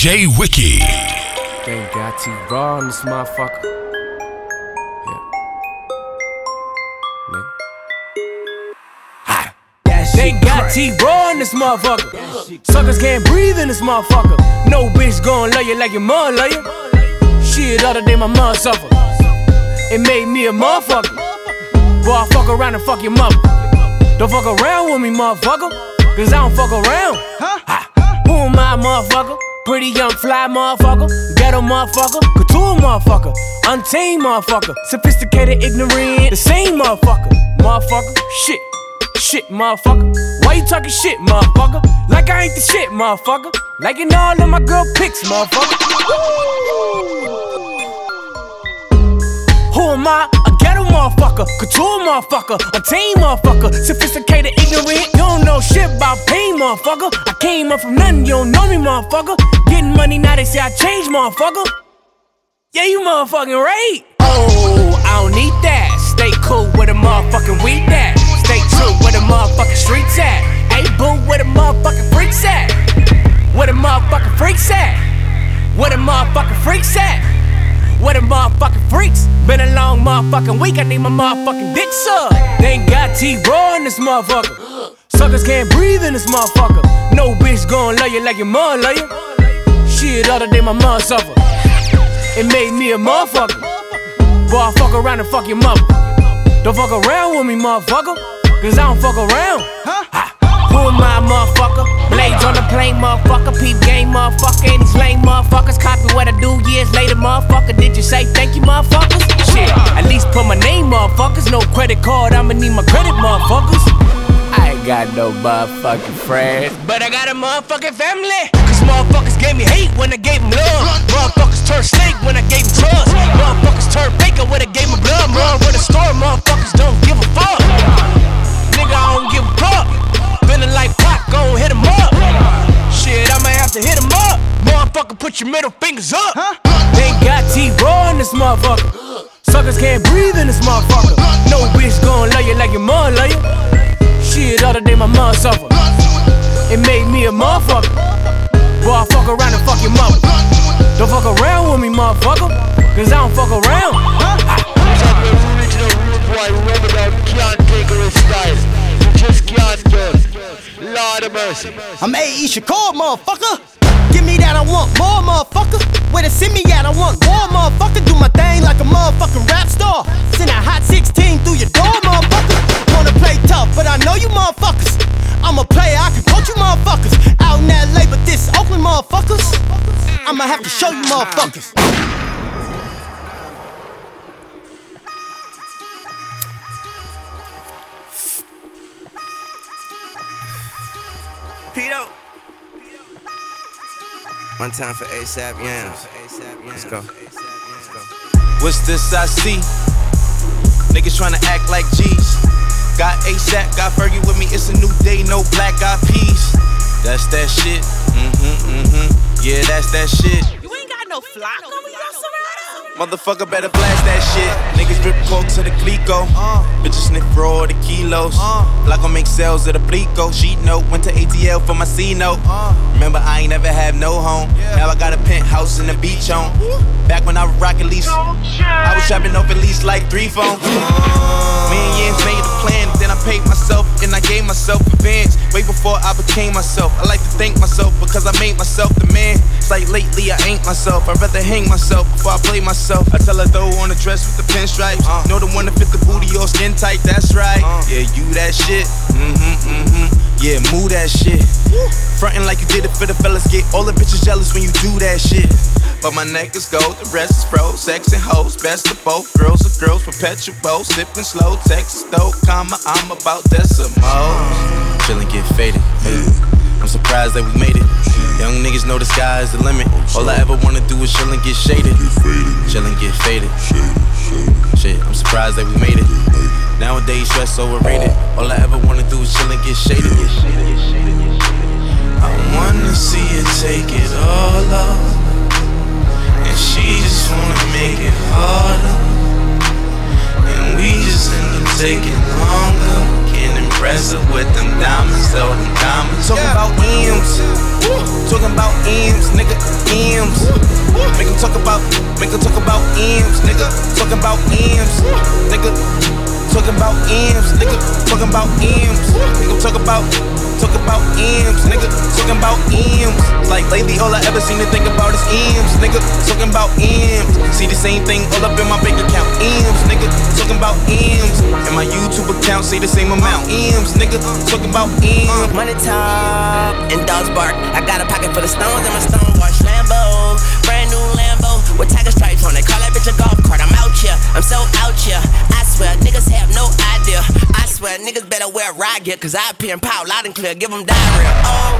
DJ Wiki. They got T-Raw in this motherfucker. They got T-Raw in this motherfucker. Suckers can't breathe in this motherfucker. No bitch gon' love you like your mom love you. Shit, other day my mom suffer. It made me a motherfucker. Boy, I fuck around and fuck your mother. Don't fuck around with me, motherfucker. Cause I don't fuck around. Who am I, motherfucker? Pretty young fly motherfucker. Ghetto motherfucker. Couture motherfucker. Untamed motherfucker. Sophisticated, ignorant. The same motherfucker. Motherfucker. Shit, motherfucker. Why you talking shit, motherfucker? Like I ain't the shit, motherfucker. Liking all of my girl pics, motherfucker. Who am I? A ghetto motherfucker, couture motherfucker, a team motherfucker, sophisticated, ignorant. You don't know shit about pain, motherfucker. I came up from nothing, you don't know me, motherfucker. Getting money now, they say I changed, motherfucker. Yeah, you motherfucking right. Oh, I don't need that. Stay cool with a motherfucking weed that. Stay true where the motherfucking streets at. Hey boo, where the motherfucking freaks at? Where the motherfucking freaks at? Where the motherfucking freaks at? Where the motherfucking freaks? Been a long motherfucking week, I need my motherfucking dick sucked. They ain't got T-Raw in this motherfucker. Suckers can't breathe in this motherfucker. No bitch gon' love you like your mom love you. Shit, other day my mom suffer. It made me a motherfucker. Boy, I fuck around and fuck your mother. Don't fuck around with me, motherfucker. Cause I don't fuck around. Who am I, motherfucker? Blades on the plane, motherfucker. Peep game, motherfucker. And these lame motherfuckers copy what I do years later, motherfucker. Did you say thank you, motherfuckers? Shit, at least put my name, motherfuckers. No credit card, I'ma need my credit, motherfuckers. I ain't got no motherfucking friends, but I got a motherfucking family. Cause motherfuckers gave me hate when I gave them love. Motherfuckers turned snake when I gave them trust. Motherfuckers turned baker when I gave them blood. Run with a store, motherfuckers don't give a fuck. Nigga, I don't give a fuck. Feeling like Pac, gon' hit him up. Shit, I might have to hit him up. Motherfucker, put your middle fingers up. They ain't got T-Raw in this motherfucker. Suckers can't breathe in this motherfucker. No bitch gon' love you like your mom love you. Shit, other day my mom suffer. It made me a motherfucker. Boy, I fuck around and fuck your mother. Don't fuck around with me, motherfucker. Cause I don't fuck around. Boy, remember that can't take her style. You just can't do it. Lord of mercy. I'm A.E. Shakur, motherfucker. Give me that, I want more, motherfucker. Where to send me at, I want more, motherfucker. Do my thing like a motherfucking rap star. Send a hot 16 through your door, motherfucker. Wanna play tough, but I know you motherfuckers. I'm a player, I can coach you motherfuckers. Out in LA, but this Oakland motherfuckers. I'ma have to show you motherfuckers. Pito. One time for ASAP Yams. Let's go. What's this I see? Niggas tryna act like G's. Got ASAP, got Fergie with me. It's a new day, no black eyed peas. That's that shit. Yeah, that's that shit. You ain't got no flock on me, Motherfucker better blast that shit. Niggas drip coke to the Glico. Bitches sniff raw the kilos. Block gon' make sales of the Blico. Sheet note, went to ATL for my C note. Remember, I ain't never had no home. Now I got a penthouse in the beach home. Back when I was rockin' lease, I was trapping off at least like 3 phones. Me and Yins made a plan, then I paid myself and I gave myself advance. Way before I became myself. I like to thank myself because I made myself the man. It's like lately I ain't myself. I'd rather hang myself before I play myself. I tell her throw on the dress with the pinstripes. Know the one that fit the booty or skin tight, that's right. Yeah, you that shit. Yeah, move that shit. Frontin' like you did it for the fellas. Get all the bitches jealous when you do that shit. But my neck is gold, the rest is froze. Sex and hoes, best of both. Girls are girls, perpetual. Sippin' slow, Texas though, comma, I'm about decimals. Chillin' get faded. I'm surprised that we made it. Young niggas know the sky is the limit. All I ever wanna do is chill and get shaded. Chill and get faded. Shit, I'm surprised that we made it. Nowadays, stress overrated. All I ever wanna do is chill and get shaded. I wanna see you take it all off. And she just wanna make it harder. And we just end up taking longer. Can't impress her with them diamonds, though them diamonds. Talking about M's, talking about M's, nigga, M's. Make them talk about M's, nigga, talking about M's, nigga. Talking about M's, nigga, talking about M's. Nigga, talk about M's, nigga, talking about M's. Like lately, all I ever seem to think about is M's, nigga, talking about M's. See the same thing all up in my bank account, M's, nigga, talking about M's. And my YouTube account say the same amount, M's, nigga, talking about M's. Money talk and dogs bark. I got a pocket full of stones and my stone wash Lambo, brand new Lambo with tiger stripes on it. Call that bitch a golf cart. I'm out here, I'm so out here. I swear niggas have no idea. I swear niggas better wear ride gear, cause I appear in power loud and clear, give them diarrhea. Oh,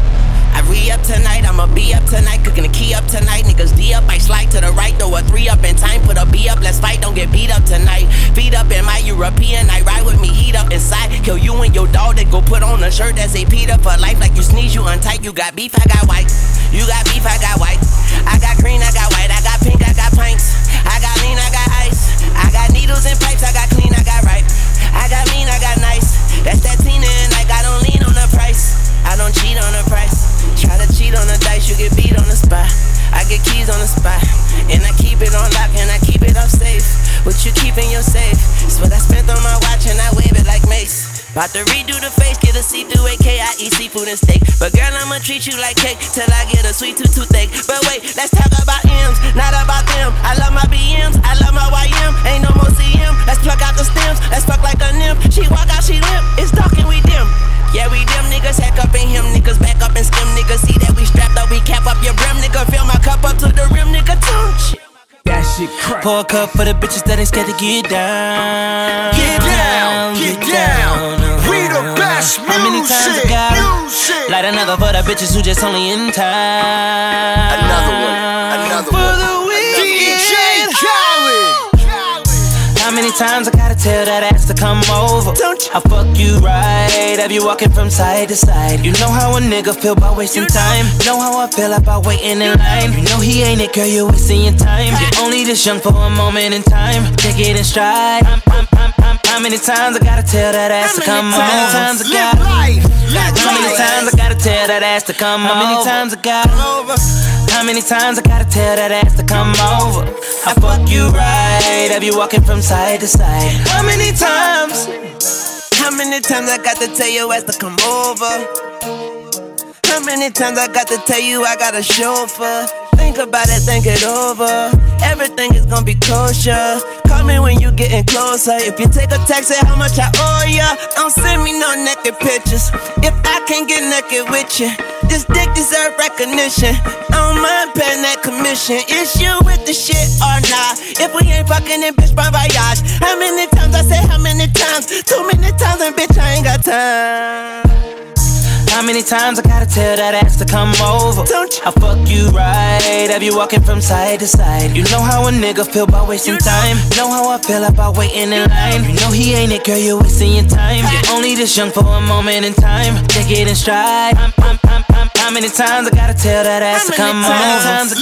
I re-up tonight, I'ma be up tonight, cooking the key up tonight. Niggas D up, I slide to the right, throw a 3 up in time, put a B up, let's fight, don't get beat up tonight. Feet up in my European, I ride with me, heat up inside. Kill you and your dog, that go put on a shirt that say Peter for life. Like you sneeze, you untight, you got beef, I got white. You got beef, I got white. I got green, I got white, I got pink, I got pints. I got lean, I got ice. I got needles and pipes, I got clean, I got right. I got mean, I got nice. That's that Tina and like I don't lean on the price. I don't cheat on the price. Try to cheat on the dice, you get beat on the spot. I get keys on the spot, and I keep it on lock, and I keep it up safe. What you keep in your safe? It's what I spent on my watch, and I wave it like Mace. About to redo the face, get a see-through AK, I eat seafood and steak. But girl, I'ma treat you like cake, till I get a sweet toothache. But wait, let's talk about M's, not about them. I love my BMs, I love my YM, ain't no more CM. Let's pluck out the stems, let's fuck like a nymph. She walk out, she limp, it's dark and we dim. Yeah, we dim niggas, hack up in him, niggas back up and skim, niggas. See that we strapped up, we cap up your brim, nigga. Fill my cup up to the rim, nigga, too. That shit crack. Pour a cup for the bitches that ain't scared to get down. Get down, get down. We the best music. How many times I gotta light another for the bitches who just only in time. Another one. For the weekend. DJ Khaled. How many times I gotta tell that ass to come over? I fuck you right, have you walking from side to side. You know how a nigga feel about wasting time. Know how I feel about waiting in line. You know he ain't it, girl, you're wasting your time. You're only this young for a moment in time. Take it in stride. How many times I gotta tell that ass to come over? How many times I gotta tell that ass to come over? How many times I gotta How many times I gotta tell that ass to come over? I fuck you right, have you walking from side to side? How many times? How many times I got to tell your ass to come over? How many times I got to tell you I got a chauffeur? Think about it, think it over. Everything is gonna be kosher. Call me when you getting closer. If you take a text, say how much I owe ya. Don't send me no naked pictures. If I can't get naked with you, this dick deserve recognition. I don't mind paying that commission. Is you with the shit or not? If we ain't fucking in bitch, bon voyage. How many times I say how many times? Too many times and bitch, I ain't got time. How many times I gotta tell that ass to come over? I fuck you right, have you walking from side to side. You know how a nigga feel about wasting time. Know how I feel about waiting in line. You know he ain't it, girl, you're wasting your time. You're only this young for a moment in time. Take it in stride. How many times I gotta tell that ass to come over? How many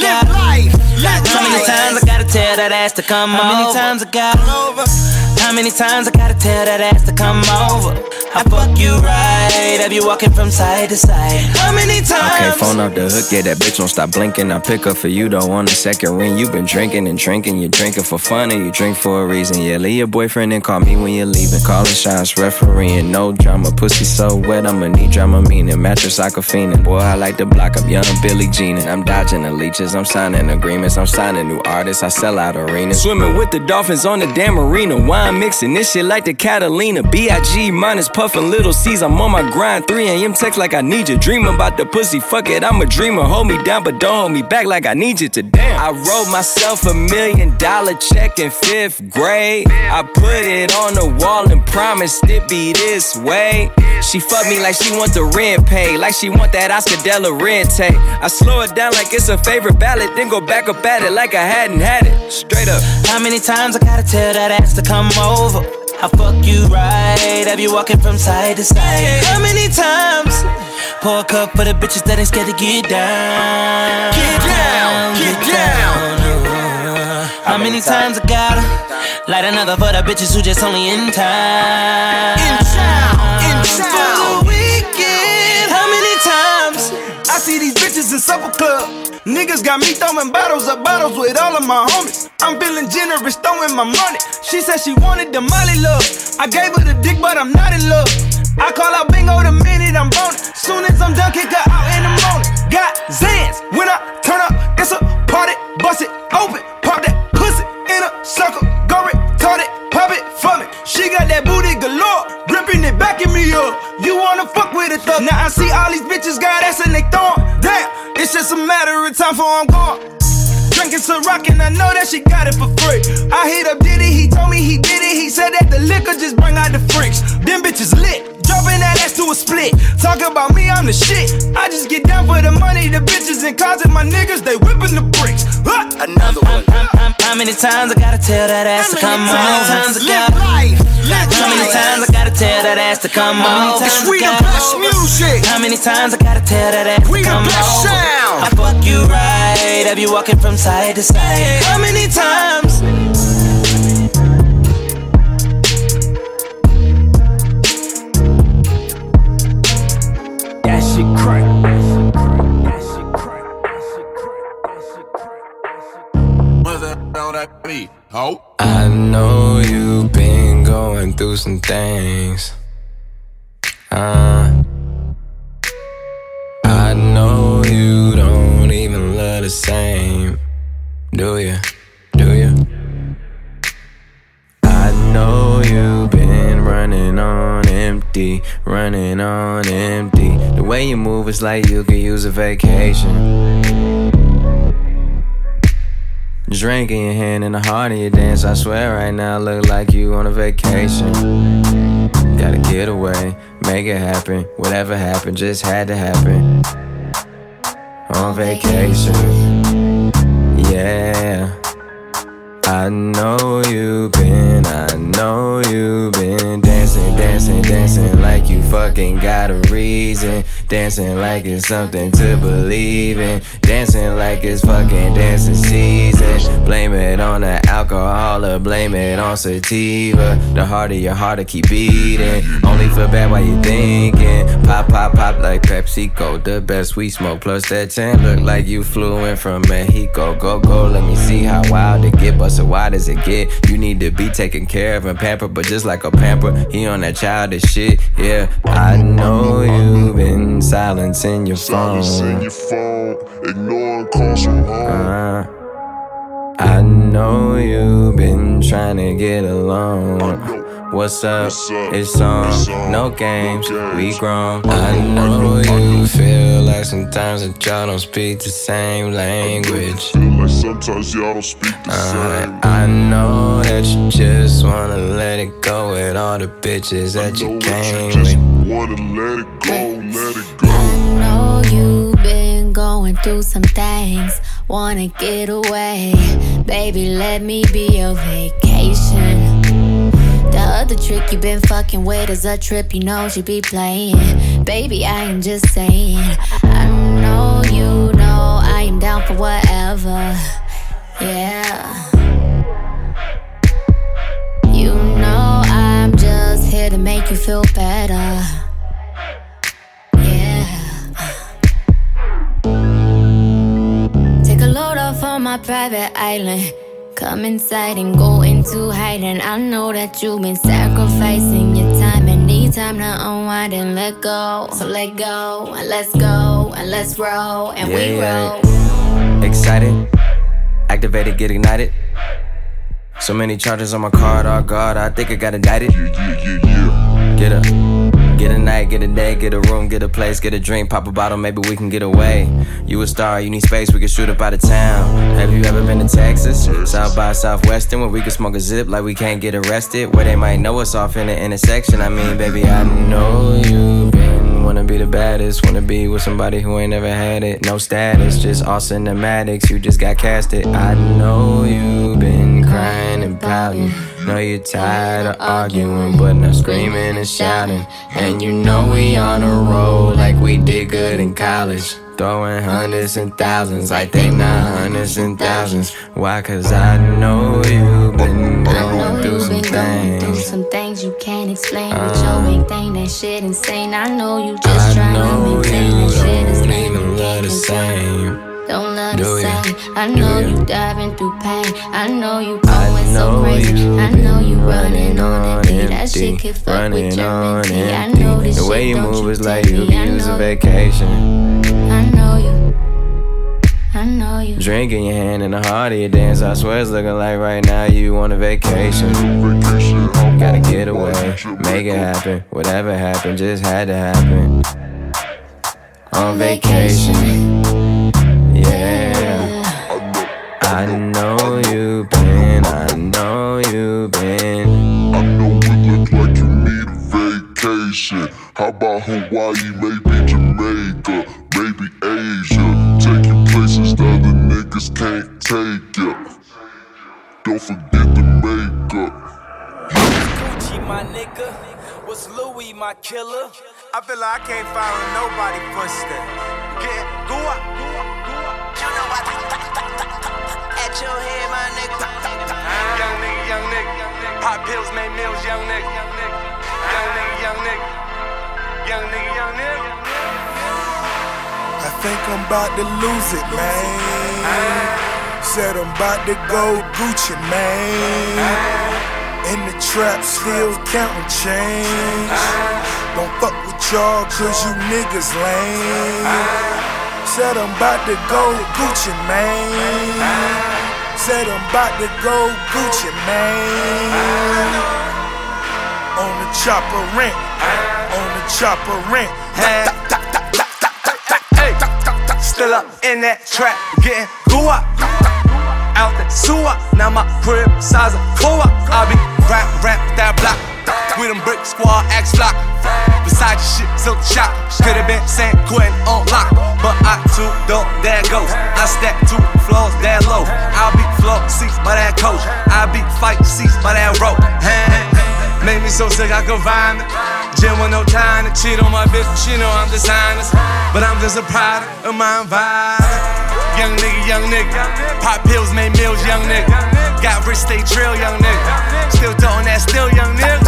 times I gotta tell that ass to come over? How many times I gotta How many times I gotta tell that ass to come over? I fuck you right, have you walking from side to side? How many times? I can't phone off the hook, yeah, that bitch won't stop blinking. I pick up for you, though, on the second ring. You been drinking and drinking, you drinking for fun or you drink for a reason. Yeah, leave your boyfriend and call me when you're leaving. Calling shots, refereeing, no drama. Pussy so wet, I'ma need drama, meaning mattress like a fiendin'. Boy, I like to block up young Billie Jean, and I'm dodging the leeches, I'm signing agreements, I'm signing new artists, I sell out arenas. Swimming with the dolphins on the damn arena. Wine mixing this shit like the Catalina. B.I.G. minus puffin' little C's, I'm on my grind. 3 a.m. text like I need you. Dream about the pussy, fuck it, I'm a dreamer. Hold me down, but don't hold me back like I need you to. Damn. I wrote myself $1 million check in 5th grade. I put it on the wall and promised it be this way. She fuck me like she want the rent paid, like she want that Oscar De La Renta. I slow it down like it's a favorite ballad, then go back up at it like I hadn't had it. Straight up. How many times I gotta tell that ass to come over? I fuck you right, have you walking from side to side? How many times? Pour a cup for the bitches that ain't scared to get down. Get down, get down. How many times I gotta light another for the bitches who just only in time? In town, in For town. the weekend. How many times I I see these bitches in supper club. Niggas got me throwing bottles with all of my homies. I'm feeling generous, throwing my money. She said she wanted the Molly love. I gave her the dick, but I'm not in love. I call out bingo the minute I'm boning. Soon as I'm done, kick her out in the morning. Got Zans, when I turn up, it's a party. Bust it open, pop that pussy in a circle. Go retarded, pop it for me. She got that booty galore, gripping it, backing me up. You wanna fuck with a thug? Now I see all these bitches got ass and they throwin'. Damn, it's just a matter of time before I'm gone. Drinking some rock and I know that she got it for free. I hit up Diddy, he told me he did it. He said that the liquor just bring out the freaks. Them bitches lit, dropping that ass to a split. Talk about me, I'm the shit. I just get down for the money. The bitches and cars and my niggas, they whipping the bricks. Another one. How many times I gotta tell that ass to come on? How many times I gotta tell that ass to come on? We the best music. How many times I gotta tell that ass to come on? I fuck you right, have you walking from side to side? How many times? That shit crack. I know you've been going through some things. I know you don't even love the same. Do you? Do you? I know you've been running on empty, running on empty. The way you move is like you could use a vacation. Drink in your hand and the heart of your dance. I swear right now look like you on a vacation. Gotta get away, make it happen. Whatever happened just had to happen. On vacation, yeah. I know you've been dancing, dancing, dancing like you fucking got a reason. Dancing like it's something to believe in. Dancing like it's fucking dancing season. Blame it on the alcohol or blame it on sativa. The harder your heart to keep beating. Only feel bad while you thinking. Pop, pop, pop like PepsiCo. The best we smoke plus that 10. Look like you flew in from Mexico. Go, go, let me see how wild it get. But so why does it get? You need to be taken care of and pampered. But just like a pamper, he on that childish shit. Yeah, I know you've been silencing your phone. Ignoring calls from home. I know you've been trying to get along. What's up? It's on. No games, we grown. I know you feel like sometimes that y'all don't speak the same language. Sometimes y'all don't speak the same. I know that you just wanna let it go with all the bitches that you came with. Wanna let it go, let it go. I know you've been going through some things. Wanna get away, baby, let me be your vacation. The other trick you been fucking with is a trip you know she be playing. Baby, I am just saying. I know you know I am down for whatever. Yeah. You know I'm just here to make you feel better. Yeah. Take a load off on my private island. Come inside and go into hiding. I know that you've been sacrificing your time and need time to unwind and let go. So let go and let's go and let's roll and we roll. Excited, activated, get ignited. So many charges on my card, oh God, I think I got indicted. Get up, get a night, get a day, get a room, get a place, get a drink, pop a bottle, maybe we can get away. You a star, you need space, we can shoot up out of town. Have you ever been to Texas? South by Southwestern, where we can smoke a zip like we can't get arrested. Where they might know us off in the intersection. I mean, baby, I know you been wanna be the baddest, wanna be with somebody who ain't never had it. No status, just all cinematics, you just got casted. I know you been crying and pouting. Know you're tired of arguing, but not screaming and shouting. And you know we on a roll like we did good in college. Throwing hundreds and thousands, I think not hundreds and thousands. Why? Cause I know you've been going through some things. Through some things you can't explain. With your big thing, that shit insane. I know you just trying to maintain that shit is lame. Don't love the same. Don't love the same. I know you diving through pain. I know you going so crazy. I know you running on empty. That shit could fuck with your mental. I know this shit. The way you move is like you use a vacation. I know you. I know you. Drink in your hand and the heart of your dance. I swear it's looking like right now you on a vacation. Gotta get away, make it happen. Whatever happened just had to happen. On vacation. Yeah, I know you've been, I know you've been. I know it look like you need a vacation. How about Hawaii, maybe Jamaica, maybe Asia? Take you places the other niggas can't take you. Don't forget the makeup. Gucci, my nigga. What's Louis, my killer? I feel like I can't follow nobody footsteps. Get go up. You know what? At your head, my nigga. Young nigga. Pop pills, make meals, young nigga. Young nigga. I think I'm about to lose it, man. Said I'm about to go Gucci, man. In the trap, still counting change. Don't fuck with y'all, cause you niggas lame. Said I'm about to go Gucci, man. Said I'm about to go Gucci, man. On the chopper rent, on the chopper rent. Still up in that trap, getting goo up. Out the sewer, now my crib size of four. I be rap that block. We them brick squad, axe block. Beside your shit, silk shop. Could've been San Quentin on lock, but I too dope, there goes. I stack 2 floors that low. I'll be floor seats by that coach. I'll be fight seats by that rope. Made me so sick I could vomit. Gym with no time to cheat on my bitch. She know I'm dishonest, but I'm just a product of my environment. Young nigga. Pop pills, made meals, young nigga. Got rich, stay trail, young nigga. Still doing that, still young nigga.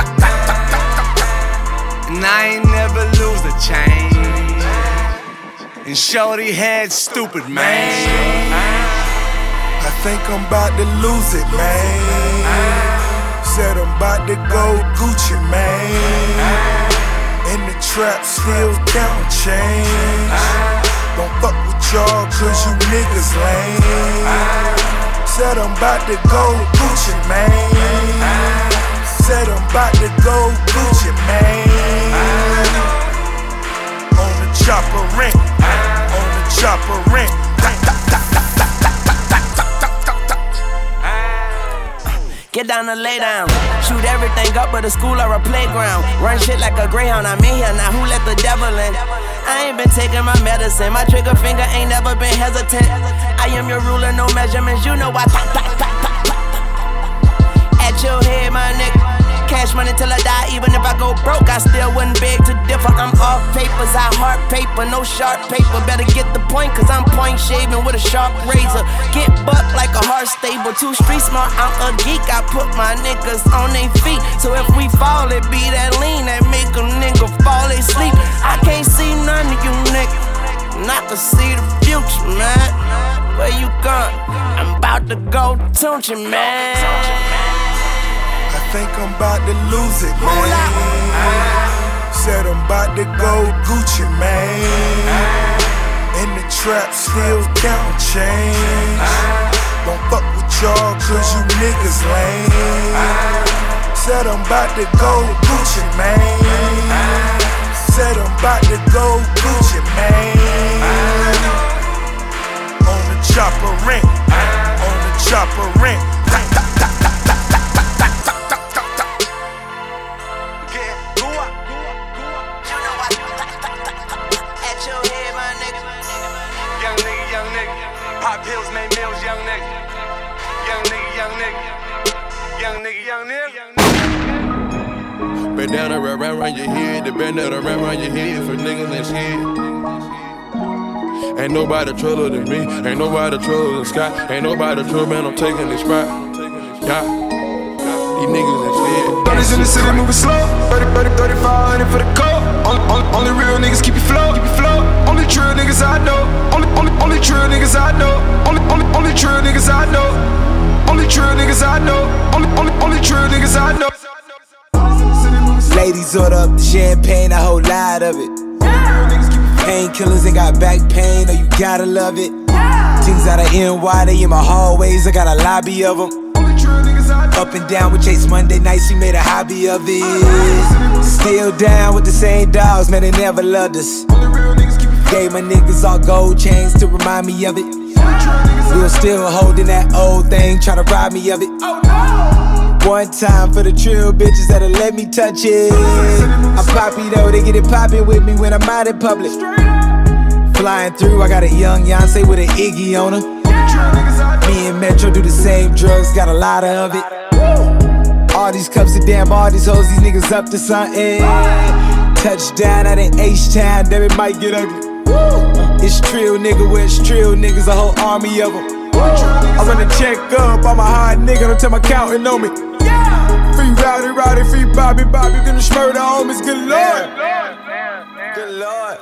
And I ain't never lose a change. And shorty head stupid, man. I think I'm about to lose it, man. Said I'm about to go Gucci, man. In the trap, still counting change. Don't fuck with y'all, cause you niggas lame. Said I'm about to go Gucci, man. Said I'm about to go Gucci, man. On the chopper rent, on the chopper rent. Get down and lay down. Shoot everything up but a school or a playground. Run shit like a greyhound. I'm in here now. Who let the devil in? I ain't been taking my medicine. My trigger finger ain't never been hesitant. I am your ruler, no measurements. You know I at your head, my nigga. Cash money till I die, even if I go broke, I still wouldn't beg to differ. I'm off papers, I heart paper, no sharp paper. Better get the point, cause I'm point shaving with a sharp razor. Get bucked like a heart stable, too street smart, I'm a geek. I put my niggas on their feet, so if we fall, it be that lean that make a nigga fall asleep. I can't see none of you niggas, and I can see the future, man. Where you going? I'm about to go Tunchi, man. I think I'm about to lose it, man. Said I'm about to go Gucci, man. In the trap, still counting change. Don't fuck with y'all, cause you niggas lame. Said I'm about to go Gucci, man. Said I'm about to go Gucci, man. On the chopper rent, on the chopper rent. Pop pills, made meals, young nigga. Young nigga. Bandana wrap around your head, the bandana wrap around your head for niggas and shit. Ain't nobody truller than me. Ain't nobody truller than Scott. Ain't nobody truller, man, I'm taking this spot. Yeah. These niggas instead. 30s in the city moving slow. 3500 for the coat. Only real niggas keep you flow. Only true niggas I know. Only true niggas I know. Only true niggas I know. Only true niggas I know. Only true niggas I know. Ladies order up the champagne, a whole lot of it. Painkillers ain't got back pain, oh you gotta love it. Things out of NY, they in my hallways, I got a lobby of them. Up and down with Chase Monday nights, we made a hobby of it. Still down with the same dogs, man, they never loved us. Gave my niggas all gold chains to remind me of it. We were still holding that old thing, tryna rob me of it. One time for the trill bitches that'll let me touch it. I'm poppy though, they get it poppin' with me when I'm out in public. Flying through, I got a young Beyonce with an Iggy on her. Me and Metro do the same drugs, got a lot of it. All these cups of damn, all these hoes, these niggas up to something. Touchdown out in H-Town, damn it might get ugly. It's trill nigga where it's trill niggas, a whole army of them. I run a check up, I'm a hard nigga, don't tell my accountant on me. Free Rowdy, free Bobby, them murder homies, good lord. Good lord.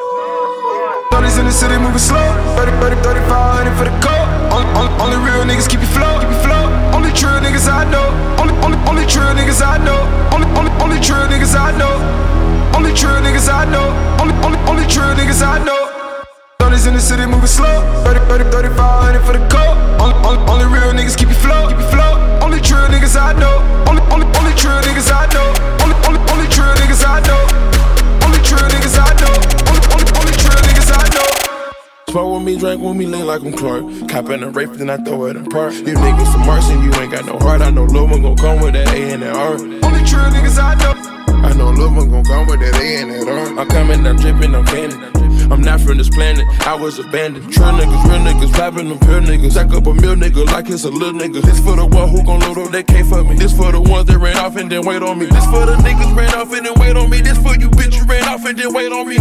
30s in the city moving slow. 3500 for the coat. Only real niggas keep you flow. Only true niggas I know. Only true niggas I know. Only true niggas I know. Only true niggas I know. Only true niggas I know. 30s in the city moving slow. 3500 for the coat. Only real niggas keep you flow. Only true niggas I know. Only true niggas I know. Only true niggas I know. Only true niggas I know. Only true niggas I know. Smoke with me, drink with me, lean like I'm Clark. Cop in a rape, then I throw it in park. You niggas some mercy, you ain't got no heart. I know Lil' one gon' come with that A and that R. Only true niggas I know. I know Lil' one gon' come with that A and that R. I'm coming, I'm drippin', I'm candy. I'm not from this planet, I was abandoned. True niggas, real niggas, rapping them pure niggas. Stack up a meal nigga like it's a little nigga. This for the one who gon' load up, they can't fuck me. This for the ones that ran off and then wait on me. This for the niggas ran off and then wait on me. This for you bitch, you ran off and then wait on me.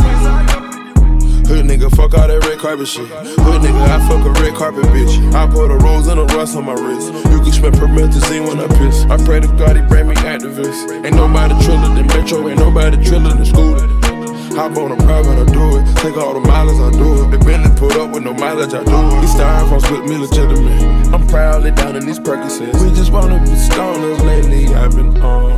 Hood nigga, fuck all that red carpet shit. Hood nigga, I fuck a red carpet bitch. I put a rose and a rust on my wrist. You can smell promethazine when I piss. I pray to God he bring me activists. Ain't nobody triller than Metro, ain't nobody triller than Scooter. Hop on a private, I do it. Take all the mileage, I do it. Been Bentley put up with no mileage, I do it. These styrofoams with me legitimate. I'm proudly down in these Percocets. We just wanna be stoners lately. I've been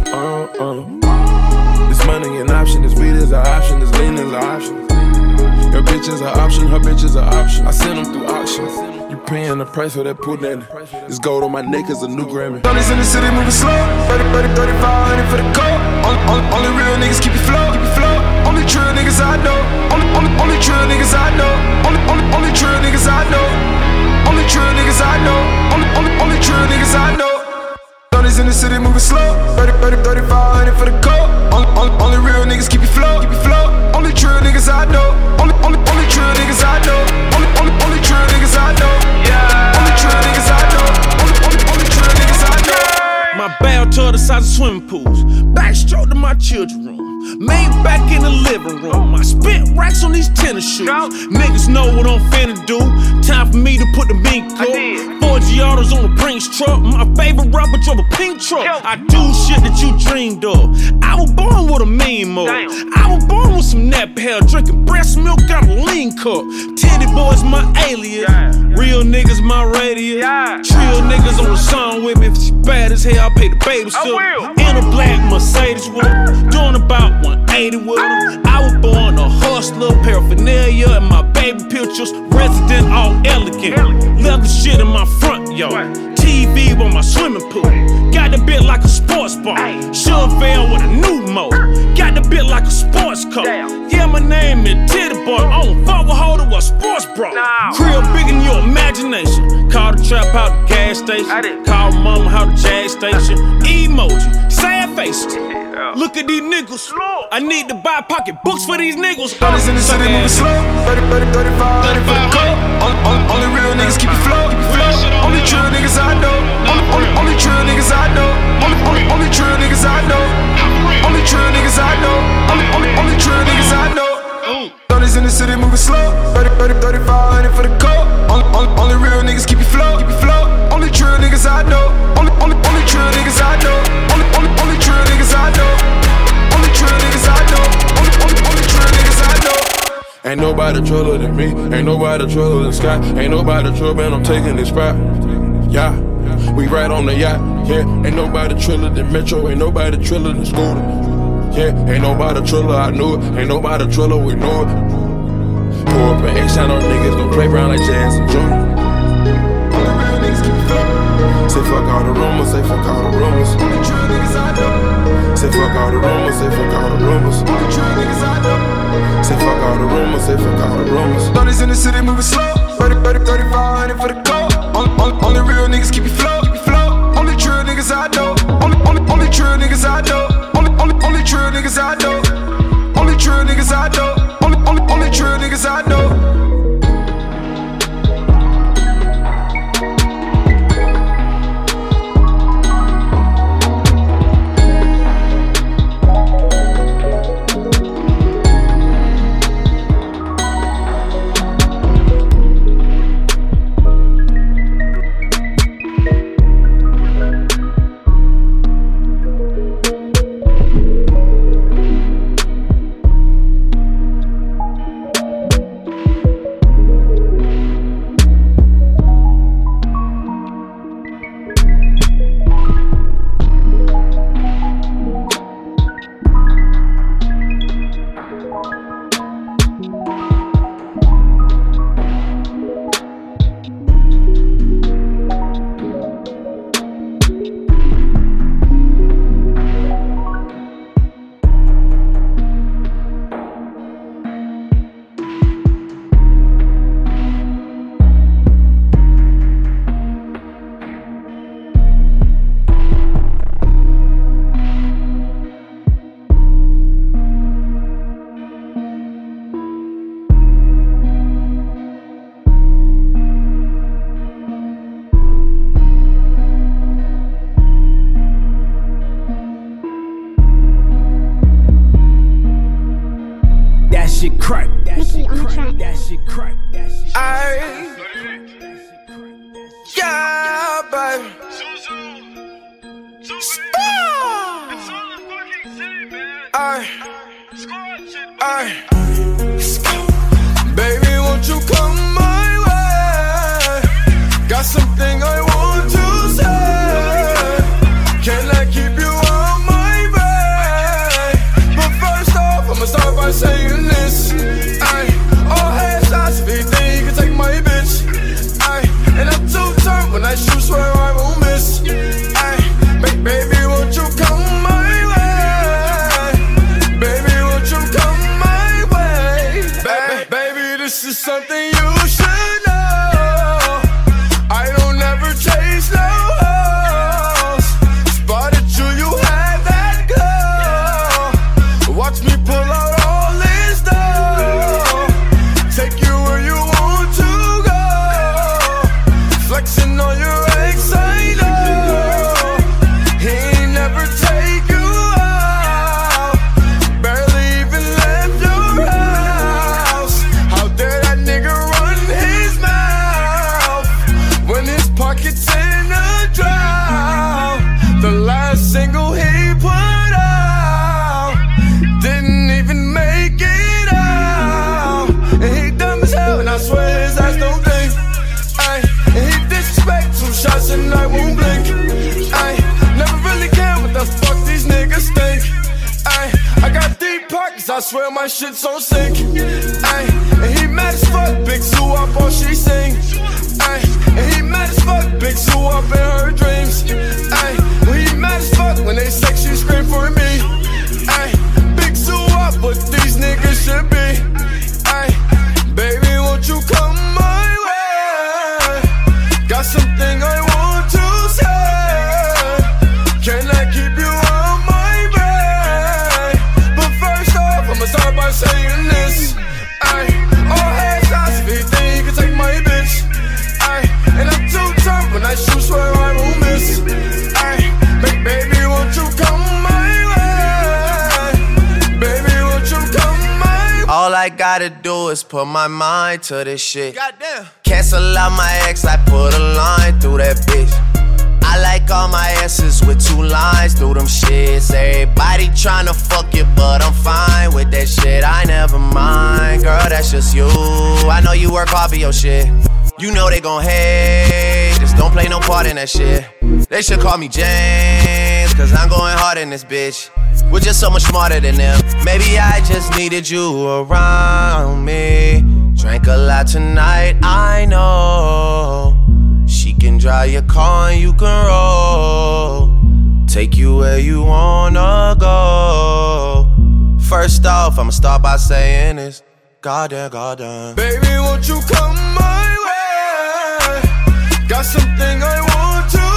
This money an option, this weed is an option, this lean is an option. Your bitch is an option, her bitch is an option. I send them through auctions. You paying the price for that pudding. This gold on my neck is a new Grammy. 30s in the city moving slow. 3500 for the coat. Only real niggas keep you flow. Only true niggas I know. Only true niggas I know. Only true niggas I know. Only true niggas I know. Only true niggas I know. 30s in the city moving slow. 3500 for the coat. Only real niggas keep you flow. Only true niggas I know. Only true niggas I know. Only true niggas I know. Only true niggas I know. Only true niggas I know. My bathtub the size of swimming pools. Backstroke to my children's room. Made back in the living room. I spent racks on these tennis shoes. Niggas know what I'm finna do. Time for me to put the mink up. 4 Giottos on a Brinks truck. My favorite rapper drove a pink truck. I do shit that you dreamed of. I was born with a mean mode. I was born with some nappy hair, drinking breast milk out a lean cup. Titty boys my alias. Real niggas my radius. Trill niggas on the song with me. If she bad as hell, I'll pay the babysitter. In a black Mercedes with her. Doing about 180 with her. I was born a hustler, paraphernalia in my baby pictures. Resident all elegant. Leather shit in my front yard. TV on my swimming pool. Got the bit like a sports bar. Chevelle with a new mode. Got the bit like a sports car. Yeah, my name is Titty Boy. I don't fuck with holder or sports bra. Crib big in your imagination. Call the trap out the gas station. Call mama out the jag station. Emoji, sad faces. Look at these niggas. I need to buy pocket books for these niggas. 30s in the city moving slow. 35 for the coat. Only real niggas keep you flow. Only true niggas I know. Only true niggas I know. Only true niggas I know. Only true niggas I know. Only true niggas I know. 30s in the city moving slow. flow, keep it flow. Only true niggas I know. Only true niggas I know. Only true niggas I know. Only true niggas I know. Only true niggas I know. Ain't nobody truller than me. Ain't nobody truller than Sky. Ain't nobody truller, man, I'm taking this spot. Yeah, we right on the yacht. Yeah, ain't nobody triller than Metro. Ain't nobody triller than Scooter. Yeah, ain't nobody triller, I knew it. Ain't nobody triller, we know it. Pour up an H-shine on niggas, gon' play around like Jazz and Junior. Say fuck all the rumors, say fuck all the rumors. Say fuck all the rumors, say fuck all the rumors. Say fuck all the rumors, say fuck all the rumors. 30s in the city moving slow. 3500 for the code. Only real niggas keep it flow. Only true niggas I know. Only true niggas I know. Only true niggas I know. Only true niggas I know. Only true niggas I know. I swear my shit's on sync. Ay, and he mad as fuck, big Sue up all she sing. Ay, and he mad as fuck, big Sue up in her dreams. Ay, when he mad as fuck, when they sex she scream for me. Ay, big Sue up, but these niggas should be. Ay, baby, won't you come my way? Got something I want to say. Can I keep you on my brain? But first off, I'ma start by saying this. Ay, all heads, I see, think you can take gotta do is put my mind to this shit. Goddamn. Cancel out my ex, I put a line through that bitch. I like all my S's with 2 lines through them shits. Everybody tryna fuck you, but I'm fine with that shit. I never mind, girl, that's just you. I know you work hard for your shit. You know they gon' hate, just don't play no part in that shit. They should call me James, cause I'm going hard in this bitch. We're just so much smarter than them. Maybe I just needed you around me. Drank a lot tonight, I know. She can drive your car and you can roll. Take you where you wanna go. First off, I'ma start by saying this. Goddamn, goddamn. Baby, won't you come my way? Got something I want to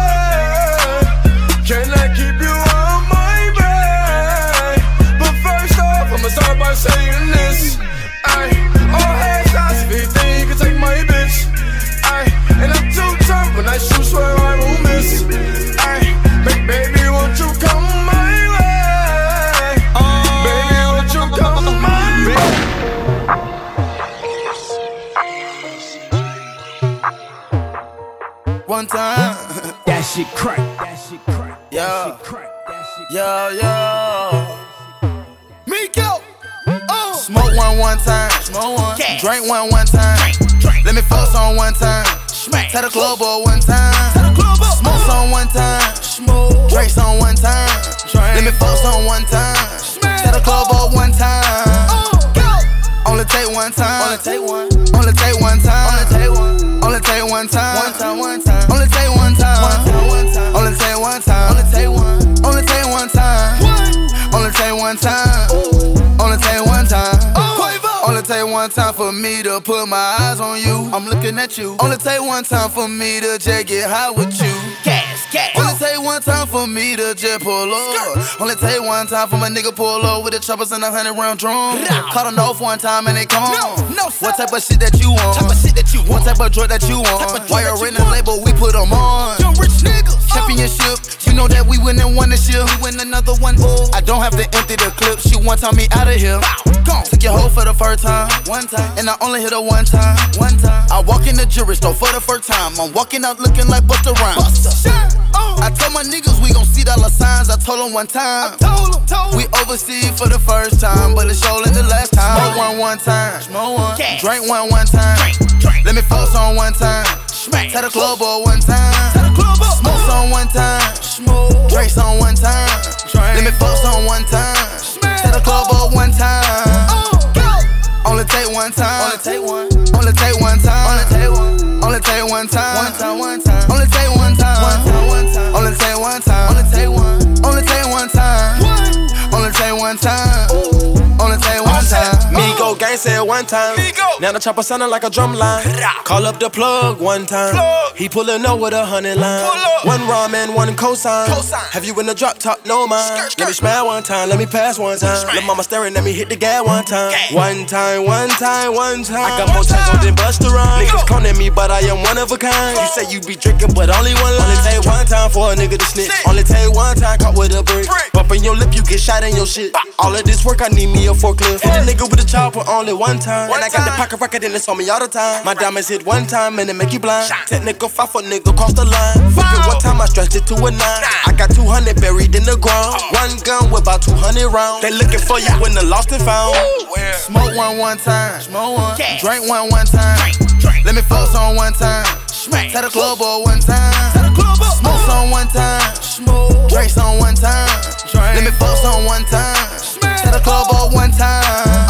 say. Can I keep you on my bed? But first off, I'ma start by saying this. All hands shots, if you think you can take my bitch. And I'm too tough when I shoot, swear I won't miss. Baby, won't you come my way? Baby, won't you come my way? One time. That shit crack. That shit crack. Yeah. Yeah. Miko. Smoke one time. Smoke one. Drink one time. Let me fuck on one time. Tell the club boy one time. Smoke on one time. Drink on one time. Let me fuck on one time. Tell the club boy one time. Only take one time. Only take one. Only take one time. Only take one. Only take one time. One time. One time. Only take one time. One time. Only take one time. Only take one. Only take one time. Only take one time. Only take one time. Only take one time for me to put my eyes on you. I'm looking at you. Only take one time for me to just get high with you. Only take one time for me to just pull up. Only take one time for my nigga pull up with the choppers and 100-round drum. Caught them off one time and they come. What type of shit that you want? What type of drug that you want? Why you in the label, we put them on. Young rich niggas. Championship, you know that we win and won this year. We win another one. I don't have to empty the clip. She one time me out of here. Took your hoe for the first time. One time. And I only hit her one time. One time. I walk in the jewelry store for the first time. I'm walking out looking like Busta Rhymes. I told my niggas we gon' see dollar signs. I told them one time. We overseas for the first time, but it's showing the last time. Smoke one time. Smoke one. Drink one time. Let me fuck on one time. Tell the club boy one time. Smoke on one time. Drink on one time. Let me fuck on one time. Tell the club boy one time. Only take one time. Only take one. Only take one time. Only take one. Only take one time. One time. One time. Only take one time. One time. One time. Only take one time. Only take one. Only take one time. Only take one time. Only take one time. Migo gang said one time. Now the chopper sounding like a drum line. Call up the plug one time. He pulling up with 100 line. One ramen, one cosign. Have you in the drop top? No mind. Let me smile one time. Let me pass one time. Let mama staring at me hit the gas one time. One time, one time, one time. I got more time than Busta Rhymes. Niggas cloning me, but I am one of a kind. You say you be drinking, but only one line. Only take one time for a nigga to snitch. Only take one time caught with a brick. Bumping your lip, you get shot in your shit. All of this work, I need me a forklift. Hit a nigga with a chopper only one time. And I got the pocket rocket and it's on me all the time. My diamonds hit one time and it make you blind. Technical 5-foot nigga cross the line. Fuck it one time, I stretched it to a 9. I got 200 buried in the ground. One gun with about 200 rounds. They looking for you when the lost and found. Smoke one time. Smoke one. Drink one time. Let me fuck on one time. Tell the club boy one time. Smoke on one time. Drink on one time. Let me fuck on one time. Tell the club boy one time.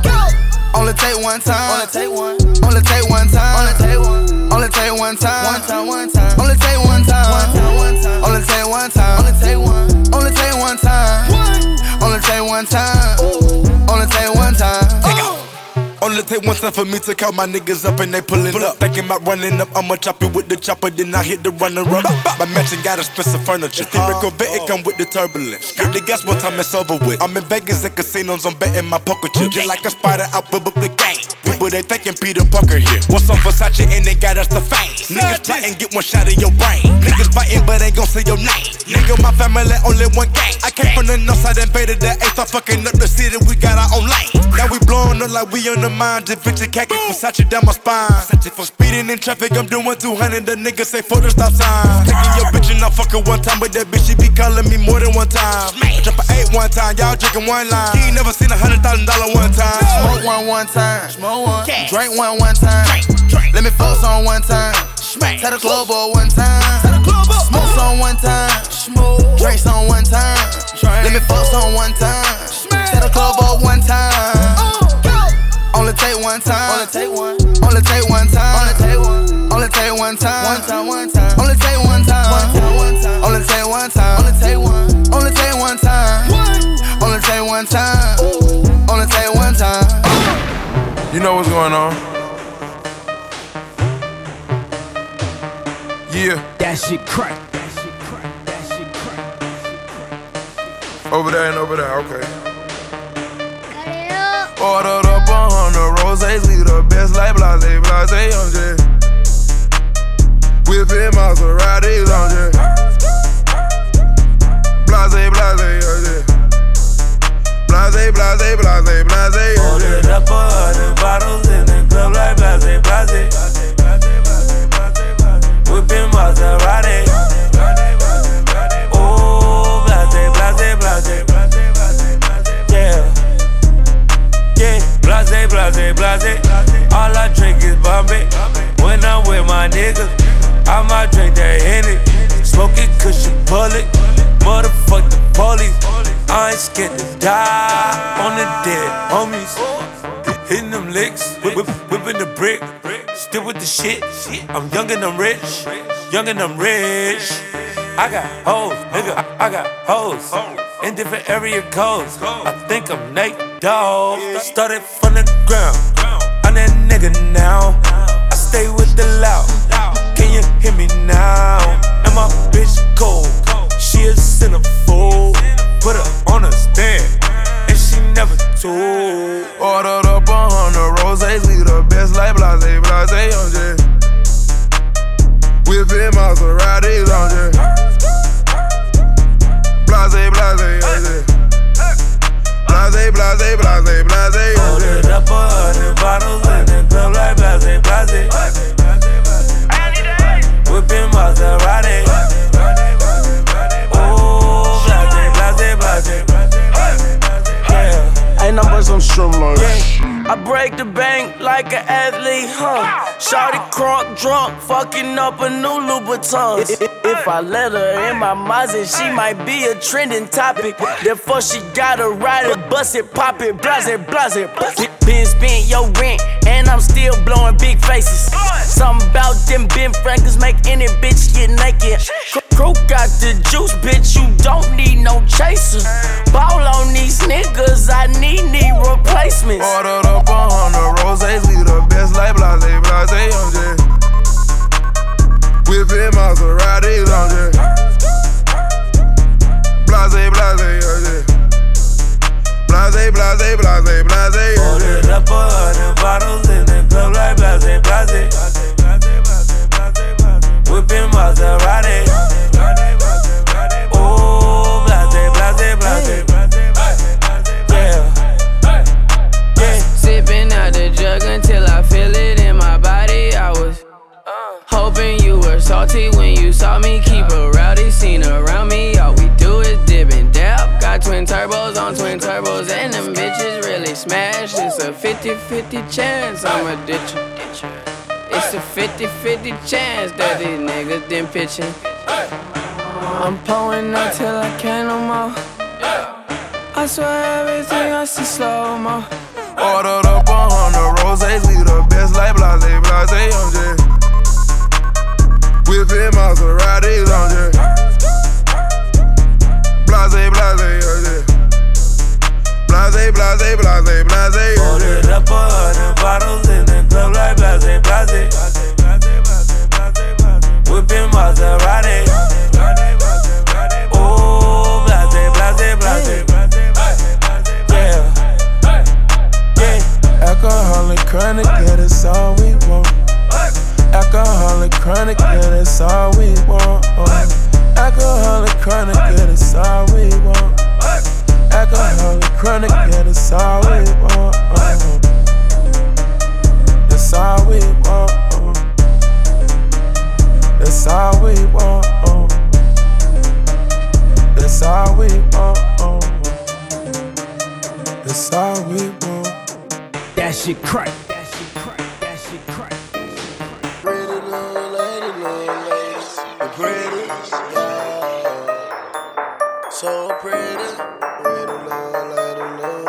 Only take one time. Only take one. Only take one time. Only take one. Only take one time. One time. One time. Only take one time. One time. One time. Only take one time. Only take one. Only take one time. Only take one time. Only take one time. Only Only take one time for me to call my niggas up and they pullin' up. Thinking about running up, I'ma chop it with the chopper, then I hit the runner up. My mansion got expensive furniture. Theory Corvette, it come with the turbulence. Get the gas one time, it's over with. I'm in Vegas at casinos, I'm betting my poker chips. Just like a spider out with the game. People they thinking Peter Parker here. What's up Versace and they got us the fame. Niggas plotting, get one shot in your brain. Niggas fighting, but ain't gon' say your name. Nigga, my family only one gang. I came from the north side, invaded the 8th. I'm fucking up the city, we got our own lane. Now we blowing up like we on the mind. Just picture khaki Versace down my spine. For speeding in traffic, I'm doing 200. The niggas say for the stop sign. Taking your bitch and I fucking one time, but that bitch she be calling me more than one time. I drop an 8 one time, y'all drinking one line. You ain't never seen $100,000 one time. Smoke one time. Smoke one. Drink one time. Let me focus on one time. Tell the club boy one time. Smoke on one time. Drinks on one time. Let me focus on one time. Tell the club boy one time. Only take one time. Only take one. Only take one time. Only take one. Only take one time. One time. One time. Only take one time. One time. Only take one time. Only take one. Only take one time. Only take one time. Only take one time. You know what's going on? Yeah. That shit crack. Over there and over there, okay. Ordered up 100 rosés, we the best like blase, blase, I'm just whipping Maseratis, I'm just blase, blase, I'm just blase, blase, blase, blase. Ordered up 100 bottles in the club like blase, blase, whipping Maserati. Oh, blase, blase, blase, yeah. Yeah, blase, blase, blase. All I drink is Bombay. When I'm with my niggas, I might drink that Henny. Smoking cushion bullet. Motherfuck the police. I ain't scared to die on the dead homies. Hitting them licks, whipping the brick. Still with the shit. I'm young and I'm rich. Young and I'm rich. I got hoes, nigga. I got hoes in different area codes. I think I'm Nate Dogg. Started from the ground. I'm that nigga now. I stay with the loud. Can you hear me now? And my bitch cold. She a centerfold. Put her on a stand, and she never told. Ordered up 100 rosés, we the best like blase, blase, I'm just whipping Maseratis, I'm just blase, blase, I'm just blase, blase, blase, blase. Ordered up 100 bottles in the club like blase, blase, whipping Maserati. Oh, blase, blase, blase, yeah. Ain't no but some streamlines. Yeah. I break the bank like an athlete, Shawty crunk drunk, fucking up a new Louboutin. If I let her in my Mazda, she might be a trending topic. Therefore she gotta ride it, bust it, pop it, blase, blase. Been spent your rent, and I'm still blowing big faces. Something about them Ben Franklin's make any bitch get naked. Crew got the juice, bitch, you don't need no chaser. Ball on these niggas, I need replacements. Ordered up 100 rosés, we the best like blase, blase, I'm just whipping Maseratis, I'm just blase, blase, I'm just blase, blase, blase, blase. Ordered up 100 bottles in the club like blase, blase, whipping Maserati. Oh, blase, blase, blase, yeah. Sipping out the jug until I feel it in my body. I was hoping you were salty when you saw me. Keep a rowdy scene around me. All we do is dip and dab. Got twin turbos on twin turbos, and them bitches really smash. It's a 50-50 chance I'ma ditch you. It's a 50-50 chance that these niggas done pitching. I'm pulling up till I can't no more. I swear everything I see slow-mo. Ordered up 100 rosés, we the best like blase, blase, I'm just whipping Maseratis, I'm just blase, blase, I'm just blase, blase, blase, blase. Ordered up 100 bottles shit crack. That shit crack. That shit crack. Pretty little lady, pretty, yeah. So pretty, pretty little lady.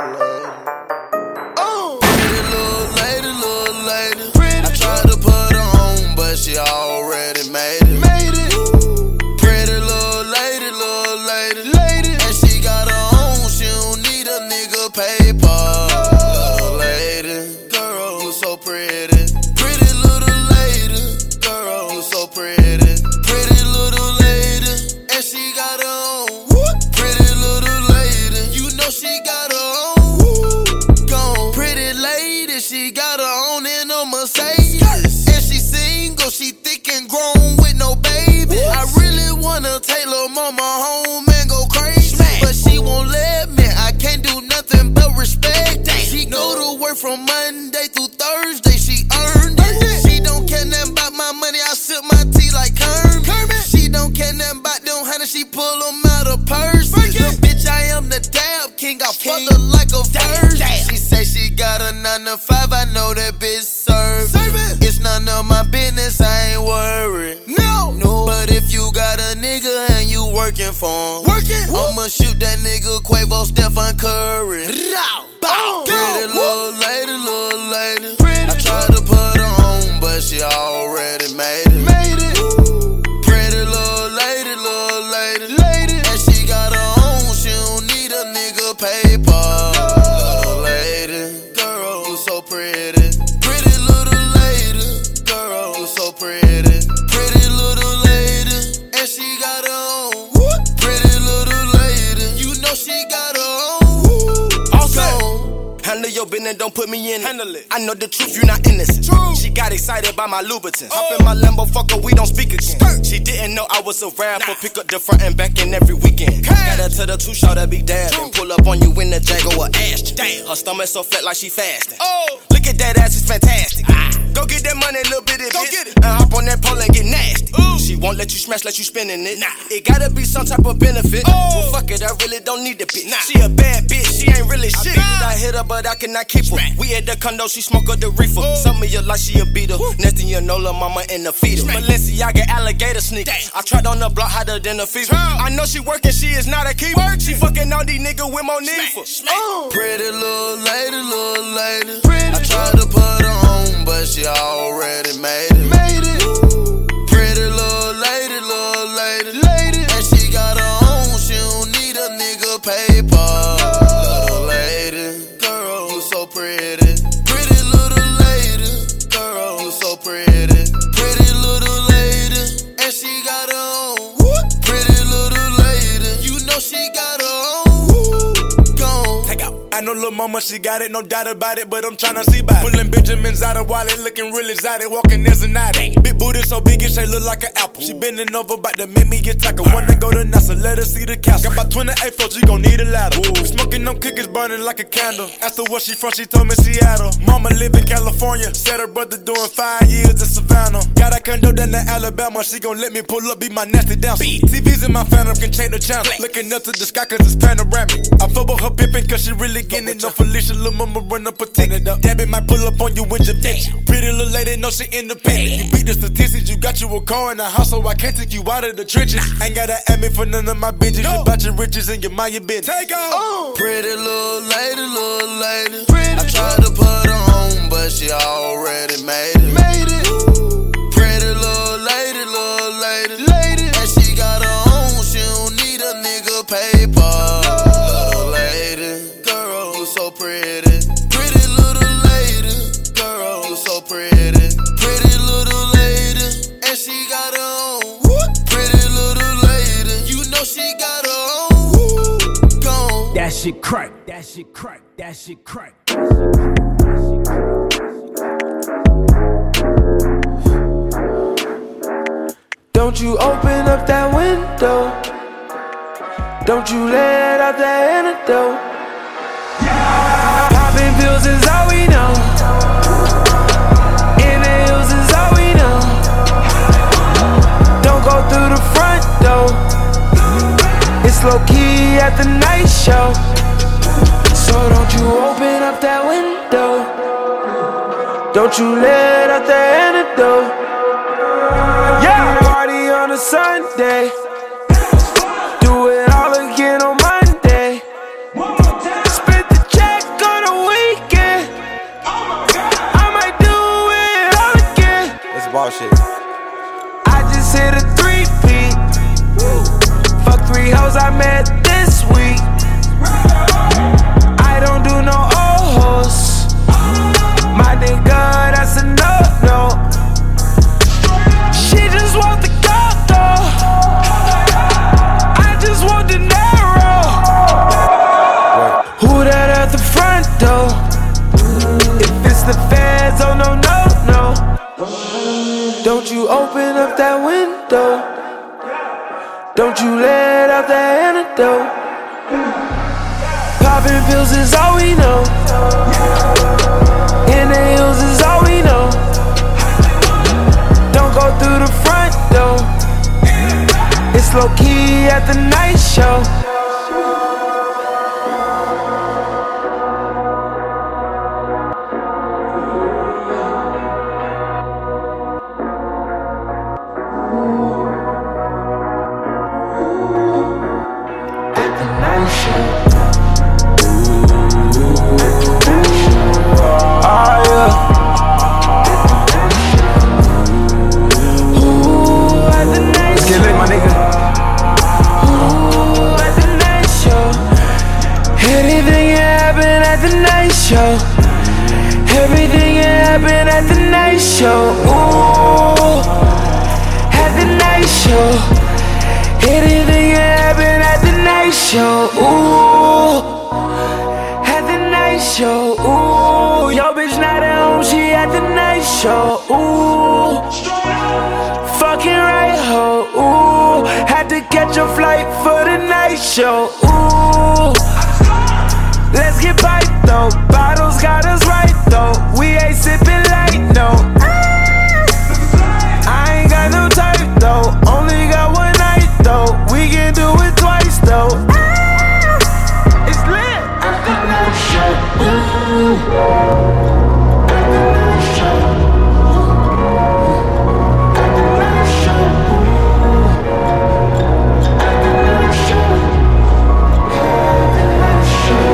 Oh, pretty little lady, pretty. I tried to put her on, but she already made it. Pretty little lady, and she got her own. She don't need a nigga paper. Little lady, girl, you so pretty. Pretty little lady, girl, you so pretty. Pretty little lady, and she got her own. Pretty little lady, you know she got her own. Gone. Pretty lady, she got her own in a Mercedes. And she single, she thick and grown with no baby. I really wanna take lil' mama home and go crazy, but she won't let me. I can't do nothing but respect. She go to work from Monday through Thursday. She earned it. She don't care nothing about my money. I sip my tea like Kermit. She don't care nothing about them honey. She pull them out of purse. The bitch, I am the dab king. I fuck her like a virgin. She say she got a 9 to 5. I know that bitch serve. It's none of my business. I ain't worried. No. But if you got a nigga and you working for him, I'ma shoot that nigga Quavo, Stephen Curry. Pretty little lady, I tried to put her on, but she already made it. Pretty little lady, and she got her own. She don't need a nigga paper. Little lady, girl, you so pretty. Pretty little lady, girl, you so pretty. Pretty little lady, and she got her own. Pretty little lady, you know she got her own. Handle your business, don't put me in it. Handle it. I know the truth, you not innocent. She got excited by my Louboutin. Hop in my Lambo, fuck her, we don't speak again. She didn't know I was a rapper. Pick up the front and back in every weekend. Got her to the 2 shot, that be dabbing. Pull up on you in the Jaguar or Ashton. Her stomach so flat like she fasting. Look at that ass, it's fantastic. Go get that money, little bitty bitch. And hop on that pole and get nasty. She won't let you smash, let you spinning it. It gotta be some type of benefit. Well, fuck it, I really don't need the bitch. She a bad bitch, she ain't really shit. I hit her, but I cannot keep her. We at the condo, she smoke up the reefer. Some of you like she a beater. Next thing you know, lil' mama in the feeder. Balenciaga alligator sneakers. I tried on the block hotter than a fever. I know she working, she is not a keeper. She fucking on these niggas with more need for. Pretty little lady, I tried to put her on, but she already made it. Pretty little lady, and she got her own. She don't need a nigga paper. Little lady, girl, you so pretty. Pretty little lady, girl, you so pretty. Pretty little lady, and she got her own. Pretty little lady, you know she got her own. Gone. Take out. I know lil' mama, she got it, no doubt about it, but I'm tryna see by it. Pulling Benjamins out of wallet, looking real exotic, walking as an addict. Big booty so big, it shit look like an apple. She bending over, bout to make me get taco. Wanna go to NASA, let her see the castle. Got about 28 floors, you gon' need a ladder. Ooh. Smoking them cookies, burning like a candle. Asked her where she from, she told me Seattle. Mama live in California, said her brother doing 5 years in Savannah. Got a condo down in Alabama, she gon' let me pull up, be my nasty dancer. TVs in my phantom can change the channel. Looking up to the sky cause it's panoramic. I fuck with her pimpin' cause she really getting it. No Felicia, lil' mama run up a ticket. Debbie might pull up on you with your bitch. Pretty little lady, know she independent. You beat the statistics, you got you a car in the house, so I can't take you out of the trenches. Ain't gotta ask me for none of my bitches. You bout your riches and you mind your business. Take off. Pretty little lady, I tried to put her on, but she already made it. Pretty little lady, and she got her own. She don't need a nigga paper. Little lady, girl, you so pretty. Pretty little lady, girl, you so pretty. Pretty little lady, and she got her own. Pretty little lady, you know she got her own. Gone. That shit crack. That shit crack. That shit crack. Don't you open up that window. Don't you let out that antidote. Popping pills is all we know. In the hills is all we know. Don't go through the front door. It's low key at the night show. So don't you open up that window. Don't you let out the antidote. Yeah, party on a Sunday. Do it all again on Monday. Spent the check on a weekend. I might do it all again. That's bullshit. I just hit a 3-peat. Fuck 3 hoes I met this week. I don't do no old hoes. My nigga, that's a no-no. She just want the gold though. I just want the narrow. Who that at the front door? If it's the feds, oh no, no, no. Don't you open up that window. Don't you let out the antidote. Popping pills is all we know. Inhales is all we know. Don't go through the front door. It's low key at the night show. Everything happen at the night show. Ooh, at the night show. Anything happen at the night show. Ooh, at the night show. Ooh, yo bitch not at home, she at the night show. Ooh, fucking right ho. Ooh, had to catch a flight for the night show. Ooh, let's get bite though. Bottles got us right though. We ain't sipping light, no. I ain't got no type though. Only got one night though. We can do it twice though. It's lit. At the night show. Ooh. At the night show. At the night show. At the night show. At the night show.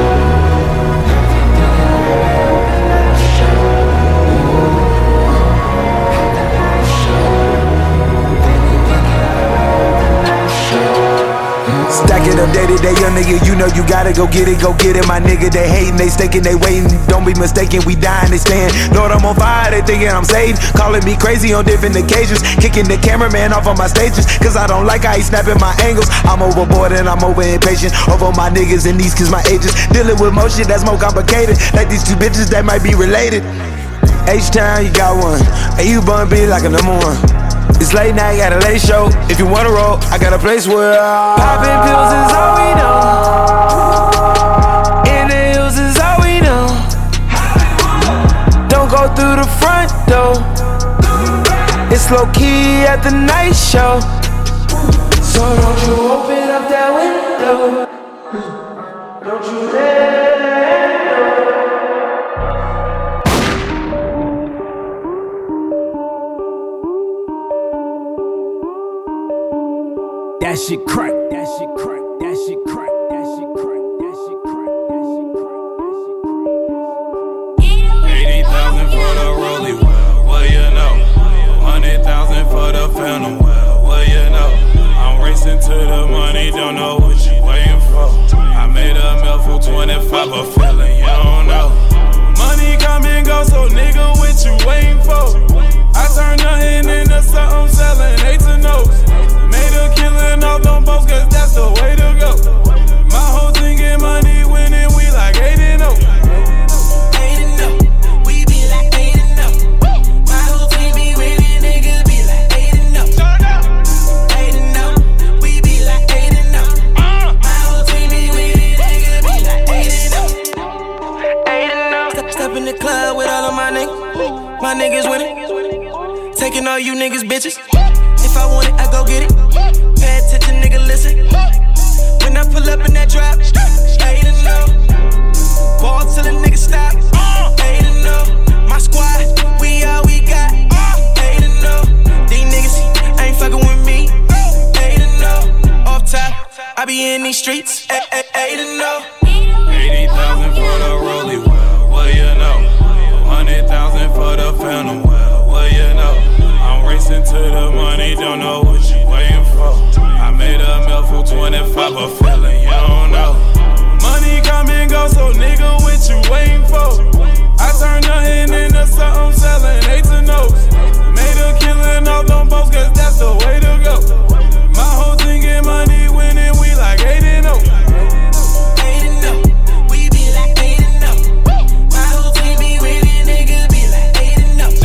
Stack it up day to day, young nigga, you know you gotta go get it, my nigga. They hating, they staking, they waiting. Don't be mistaken, we dying, they staying. Lord, I'm on fire, they thinking I'm saved. Calling me crazy on different occasions. Kicking the cameraman off on my stages, cause I don't like how he snapping my angles. I'm overboard and I'm over impatient. Over my niggas and these cause my ages. Dealing with more shit that's more complicated. Like these two bitches that might be related. H-Town, you got one. And you bun be like a number one. It's late night, got a late show. If you wanna roll, I got a place where poppin' pills is all we know. Inhales is all we know. Don't go through the front door. It's low key at the night show. So don't you open up that window. Don't you let that shit crack, that shit crack, that shit crack, that shit crack, that shit crack, that shit crack, that shit crack. 80,000 for the rollie, well, you know. 100,000 for the phantom, well, you know. I'm racing to the money, don't know what you waiting for. I made a meal for 25, but feeling you don't know. Money come and go, so nigga, what you waiting for? I turn nothing into something, selling 8 to no's. Made a killing off them boats, cause that's the way to go. My whole thing get money winning, we like 8-0. 8-0, we be like 8-0. My whole team be winning, nigga be like 8-0. 8-0, we be like 8-0. My whole team be winning, nigga be like 8-0. Step in the club with all of my niggas winning. Taking all you niggas bitches. If I want it, I go get it. Pay attention, nigga, listen. When I pull up in that drop, 8-0. Ball till the nigga stop, 8-0. My squad, be in these streets. 80,000 for the rollie, well, you know. 100,000 for the phantom, well, you know. I'm racing to the money, don't know what you waiting for. I made a meal for 25, but feeling you don't know. Money come and go, so nigga, what you waiting for? I turn nothing into something, selling 8 to no's. Made a killing off them boats, cause that's the way to go. My whole thing get money winning, we like 8-0. 8-0, we be like 8-0. My whole team be winning, nigga be like 8-0.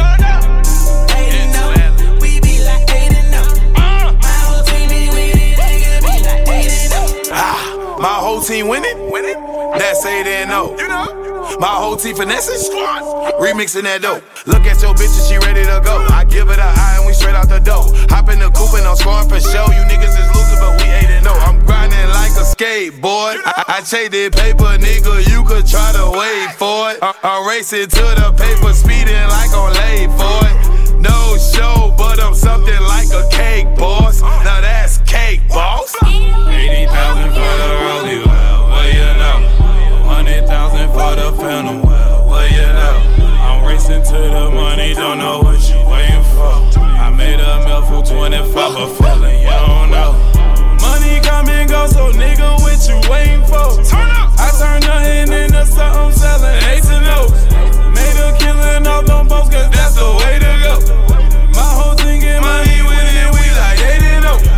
8-0, we be like 8-0. My whole team be winning, nigga be like 8-0. My whole team winning? That's 8-0. You know? My whole team finessing? Remixing that dope. Look at your bitch and she ready to go. I give it a eye and we straight out the door. Hop in the coupe and I'm scoring for show. You niggas is losing but we 8-0. I'm grinding like a skateboard. I traded paper, nigga, you could try to wait for it. I'm racing to the paper, speeding like on late for it. No show, but I'm something like a cake boss. Now that's cake, boss. 80,000 for the rollie, well, you know. 100,000 for the phantom, well, you know. I'm racing to the money, don't know what you waiting for. I made a meal for 25, but feeling you don't know. Money come and go, so nigga, what you waiting for? I turn nothing into something, selling 8 to no's. Made a killing off them boats, cause that's the way to go. My whole thing get money winning, we like 8-0.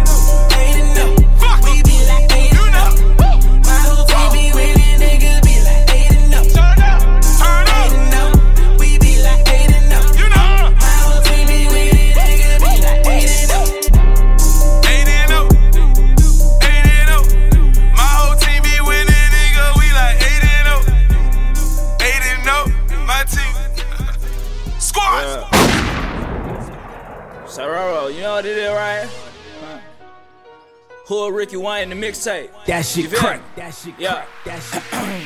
Sororo, you know what it is, right? Who Ricky Wayne the mixtape? That shit crack. That shit crack. That shit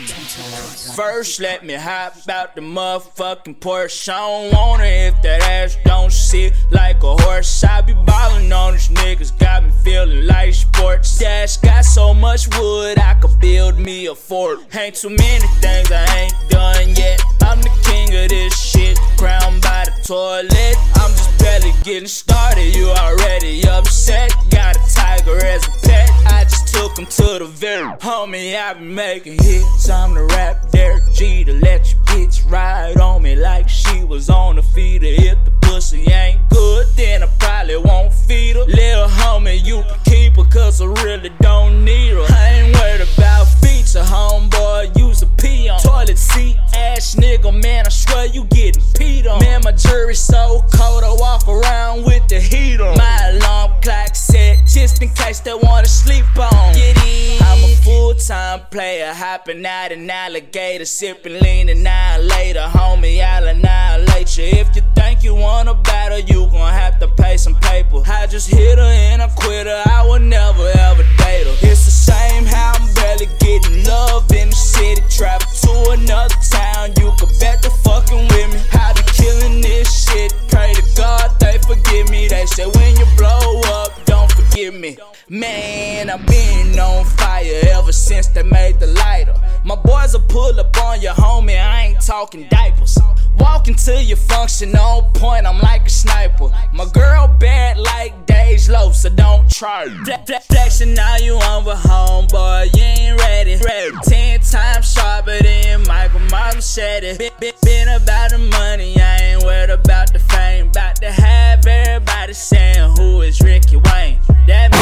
First, let me hop out the motherfucking Porsche. I don't want it if that ass don't sit like a horse. I be ballin' on these niggas, got me feeling like sports. Dash got so much wood, I could build me a fort. Ain't too many things I ain't done yet. I'm the king of this shit, crowned by the toilet. I'm just barely getting started, you already upset. Got a tiger as a pet, I just took him to the very. Homie, I been making hits, I'm the rap Derek G to let your bitch ride on me like she was on the feeder. If the pussy ain't good, then I probably won't feed her. Little homie, you can keep her, cause I really don't need her. I ain't worried about feature, homeboy, use a pee on. Toilet seat, ass nigga, man, I swear you getting peed on. Man, my jury's so cold, I walk around with the heat on. My alarm clock set, just in case they wanna sleep on. Get in. I'm a full-time player, hopping out an alligator, sipping lean annihilator. Homie, I'll annihilate you. If you think you wanna battle, you gon' have to pay some paper. I just hit her and I quit her, I would never ever date her. It's the same how I'm barely getting love in the city. Travel to another town, you can bet the fucking with me. I be killing this shit, pray to God they forgive me. They say when you blow up, don't forgive me. Man, I've been on fire ever since they made the lighter. My boys will pull up on your homie, I ain't talking diapers. Walking to your function on point, I'm like a sniper. My girl bad like Dej Loaf, so don't try it. Flexing now you on with homeboy, you ain't ready. 10 times sharper than Michael said it. Been about the money, I ain't worried about the fame. About to have everybody saying who is Ricky Wayne. That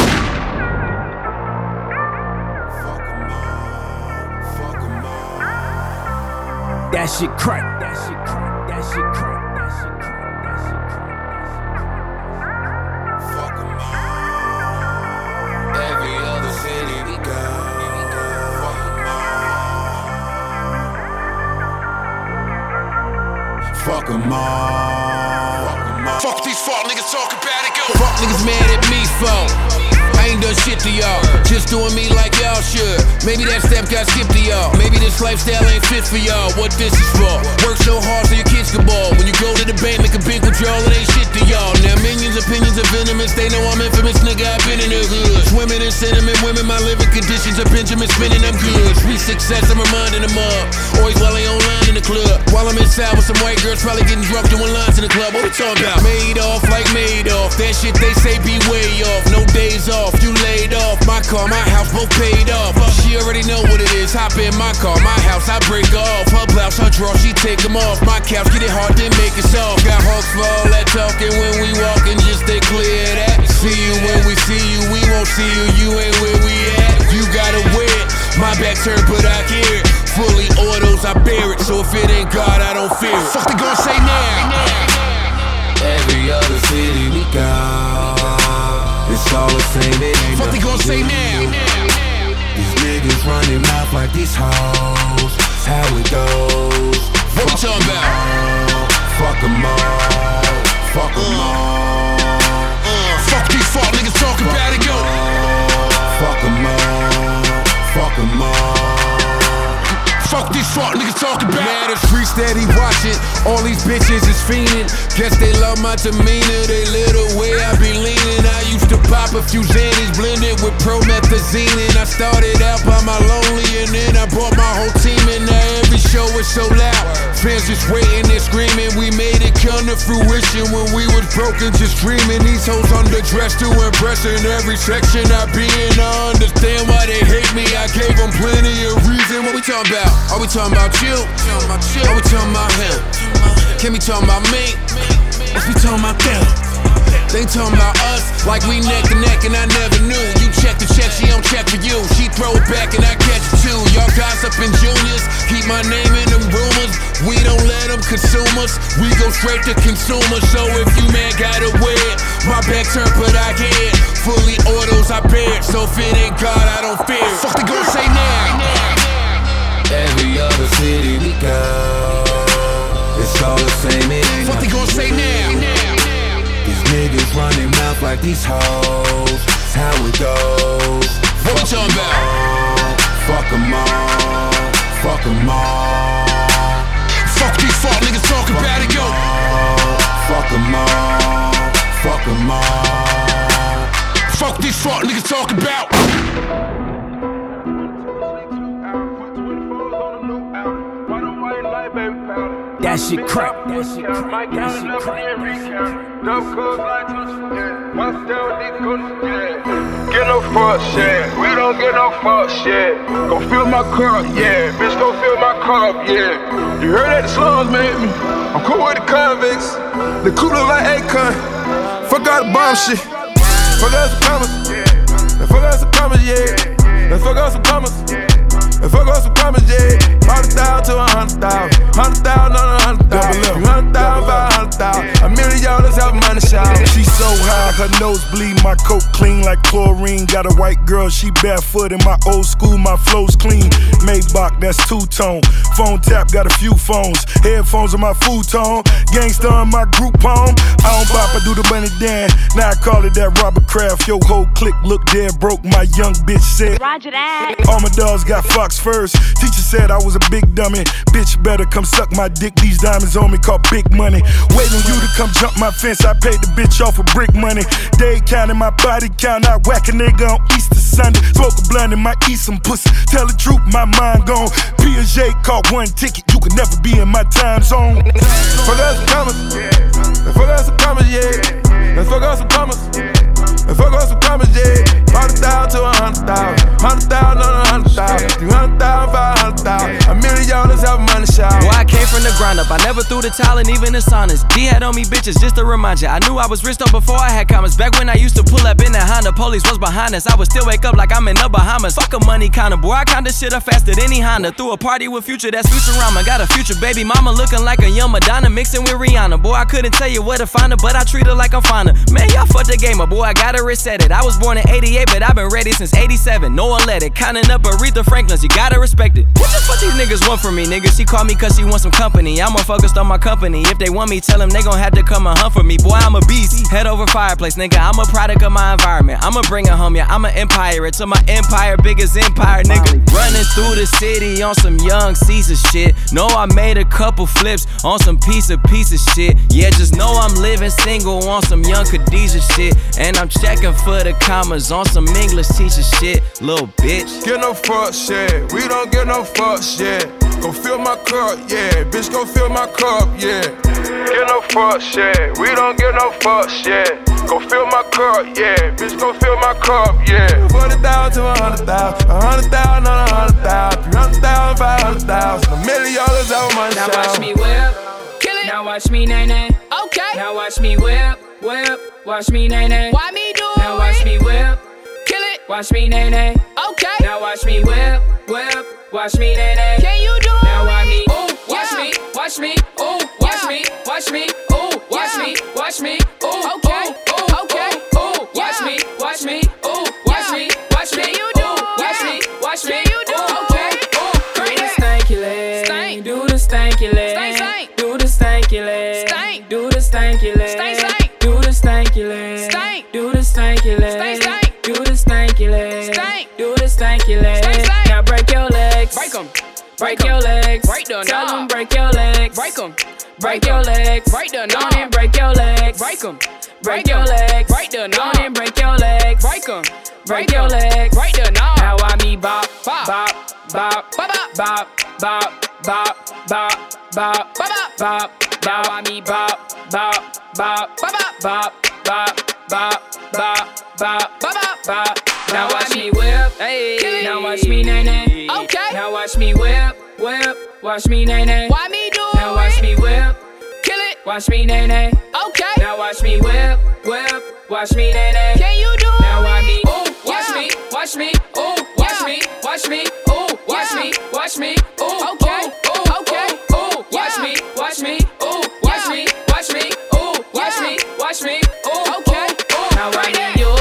That shit crack. That shit crack. That shit crack. That shit crack. That shit crack. Fuck 'em all. Every other city we go. Fuck 'em all. Fuck 'em all. Fuck these fuck niggas talk about it, go. Fuck niggas mad at me for. I ain't done shit to y'all, just doing me like y'all should. Maybe that step got skipped to y'all. Maybe this lifestyle ain't fit for y'all. What this is for? Work so hard so your kids can ball. When you go to the bank, make a big withdrawal, it ain't shit to y'all. Now millions opinions are venomous. They know I'm infamous, nigga, I've been in the hood. Swimming in cinnamon, women, my living conditions are Benjamin spinning, I'm good. Sweet success, I'm reminding them of. Always while they online in the club. While I'm inside with some white girls, probably getting drunk doing lines in the club. What we talking about? Made off like made off. That shit they say be way off. No days off, you laid off. My car, my house, both paid off. She already know what it is. Hop in my car, my house, I break off. Her blouse, her draw, she take them off. My couch, get it hard, then make it soft. Got hawks for all that talking when we walking, just stay clear of that. See you when we see you, we won't see you, you ain't where we at. You gotta wear it, my back turned but I hear it. Fully autos, I bear it, so if it ain't God, I don't fear it. Fuck they gon' say now? Every other city we go, it's all the same, it ain't fuck they gon' say now? These niggas running mouth like these hoes, how it goes. What we talking about? Fuck them all, fuck them all. Fuck these fuck niggas talking about it, go. Fuck them all, fuck them all. Fuck these fuck niggas talking about. Mad as free steady watching. All these bitches is fiending. Guess they love my demeanor. They little way I be leaning. I used to pop a few Xannies blended with promethazine. And I started out by my lonely, and then I brought my whole team. And now every show is so loud. Fans just waiting and screaming. We made it come to fruition when we was broken, just dreaming. These hoes underdressed to impress in every section I be in. I understand why they hate me. I gave them plenty of reason. What we talking about? Are we talking about you? Are we talking about him? Can we talking about me? Let's be talking about them. They talking about us like we neck to neck and I never knew. You check the check, she don't check for you. She throw it back and I catch it too. Y'all gossiping juniors, keep my name in them rumors. We don't let them consume us, we go straight to consumers. So if you man gotta wear it, my back turned but I get it. Fully autos, I bear it. So if it ain't God, I don't fear it. Fuck they gon' say now? Every other city we go, it's all the same, it ain't what they gon' say now? These niggas running mouth like these hoes, how it goes. What we talking about? Fuck them all, fuck them all. Fuck these fuck niggas talking about it, go. Fuck them all, fuck them all. Fuck these fuck niggas talking about. That shit crack. That shit crack. That shit crack. Get no fuck shit. We don't get no fuck shit. Go fill my cup, yeah. Bitch, go fill my cup, yeah. You heard that the slums made me. I'm cool with the convicts. The cooler like Akon. Fuck out the bomb shit. Fuck out some commas. Fuck out some commas, yeah. Fuck out some commas. Fuck out some commas, yeah. 100,000 to 100,000. 100,000 on 100,000. 100,000 by 100,000. $1 million help money shout. She so high, her nose bleed, my coat clean like chlorine. Got a white girl, she barefoot in my old school, my flow's clean. Maybach, that's two-tone. Phone tap, got a few phones. Headphones on my futon. Gangsta on my group home. I don't bop, I do the money dance. Now I call it that Robert Kraft. Yo, whole clique look dead broke, my young bitch said. Roger that. All my dogs got Fox first. Teacher said I was a big dummy. Bitch better come suck my dick. These diamonds on me call big money. Waiting on you to come jump my fence. I paid the bitch off for brick money. Day counting my body count. I whack a nigga on Easter Sunday. Smoke a blunt and might eat some pussy. Tell the truth, my mind gone. Piaget caught one ticket. You can never be in my time zone. Fuck out some commas. Fuck out some commas, yeah. Fuck out some commas. Fuck out some commas, yeah. 100,000 to 100,000. 100,000 on 100,000. 300,000 by 100,000. $1 million help money shout. Boy, I came from the ground up. I never threw the towel and even the saunas. D had on me bitches just to remind ya. I knew I was rich though before I had commas. Back when I used to pull up in that Honda, police was behind us. I would still wake up like I'm in the Bahamas. Fuck a money counter, boy. I count this shit up faster than any Honda. Threw a party with Future, that's Futurama. Got a future baby mama looking like a young Madonna mixing with Rihanna. Boy, I couldn't tell you where to find her, but I treat her like I'm finer. Man, y'all fucked the gamer, boy. I gotta reset it. I was born in 88, but I've been ready since 87. No one let it. Counting up Aretha Franklin's, you gotta respect it. What the fuck these niggas want from me, nigga? She called me cause she wants some company. I'm more focused on my company. If they want me, tell them they gon' have to come and hunt for me. Boy, I'm a beast. Head over fireplace, nigga, I'm a product of my environment. I'ma bring it home, yeah, I'm an empire. It's my empire, biggest empire, nigga. Running through the city on some young Caesar shit. Know I made a couple flips on some piece of shit. Yeah, just know I'm living single on some young Khadijah shit. And I'm checking for the commas on some English teacher shit, little bitch. Get no fuck shit, we don't get no fuck shit. Go fill my cup, yeah, bitch, go fill my cup, yeah. Get no fuck shit, we don't get no fuck shit. Go fill my cup, yeah, bitch, go fill my cup, yeah. 40,000 to 100,000, 100,000 on 100,000, 300,000, 500,000, $1 million over my now shout. Now watch me whip, kill it. Now watch me nay nay. Okay. Now watch me whip, watch me nay nay. Why me do it? Now watch me whip, kill it. Watch me nay nay. Okay. Now watch me whip, watch me nay nay. Can you do it? Now watch me, ooh, watch me, watch me, ooh, watch me, watch me, ooh, watch me, watch me, ooh, okay, okay, ooh, watch me, watch me, ooh, watch me, watch me, you do, watch me, watch me, you do, okay, ooh, do the stanky leg, do the stanky leg, do the stanky leg, do the stanky leg, do the stanky leg, do the stanky leg, do the stanky leg, do the stanky leg. Now break your legs, break them. Break your legs, break the tell them break your legs, break them. Break your legs, break the knob and break your legs, break them. Break your legs, break the knob and break your legs, break them. Break your legs, break the knob. Now I me bop, bop, bop, bop, bop, bop, bop, bop, bop, bop, bop. Now I me bop, bop, bop, bop, bop, bop, bop, bop, bop, bop. Now watch me whip, hey. Now watch me nay nay. Okay. Now watch me whip, watch me nay nay. Why me do it? Now watch me whip, kill it. Watch me nay nay. Okay. Now watch me whip, watch me nay nay. Can you do it? Now watch me, ooh, watch me, watch me, ooh, watch me, watch me, ooh, watch me, watch me, ooh, okay, okay, ooh, watch me, watch me, ooh, watch me, watch me, ooh, watch me, watch me, ooh, okay. Now I need you.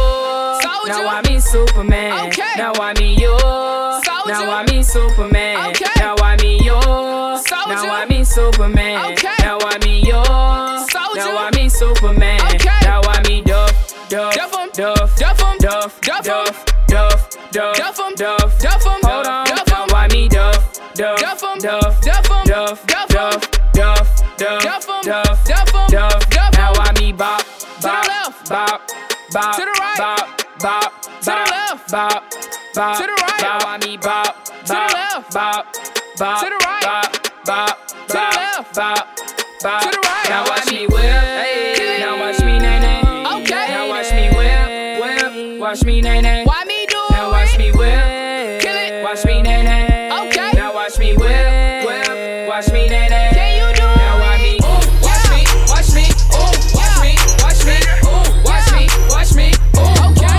Now I mean Superman. Okay. Now I mean you. Soldier. Now I mean Superman. Okay. Now I mean you. Soldier. Now I mean Superman. Okay. Now I mean you. Soldier. Now I mean Superman. Okay. Now I mean Duff, Duff, Duff, Duff, Duff, Duff, Duff, Duff, Duff, Duff, Duff, Duff. Hold on. Now I mean Duff, Duff, Duff, Duff, Duff, Duff, Duff, Duff, Duff, Duff, Duff. Now I mean Bop, Bop, Bop, Bop, to the right, Bop. Bop, to the left, bop, bop, to the right. Now I me bop, to the left, bop, bop, to the right, bop, bop, to the left, bop, bop, to the right. Now watch me whip, hey. Now watch me nay nay. Okay. Now watch me whip, watch me nay nay. Why me do it? Now watch me whip, kill it. Watch me nay nay. Okay. Now watch me whip, watch me nay nay. Can you do it? Now watch me, ooh, watch me, watch me, ooh, watch me, watch me, ooh, watch me, watch me, ooh, okay.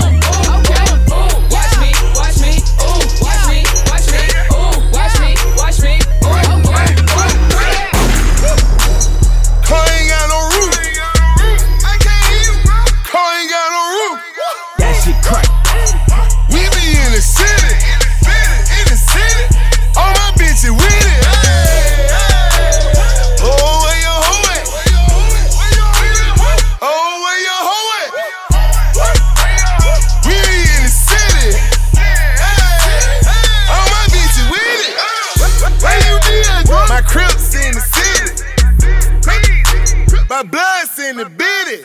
My blood's in the bitty.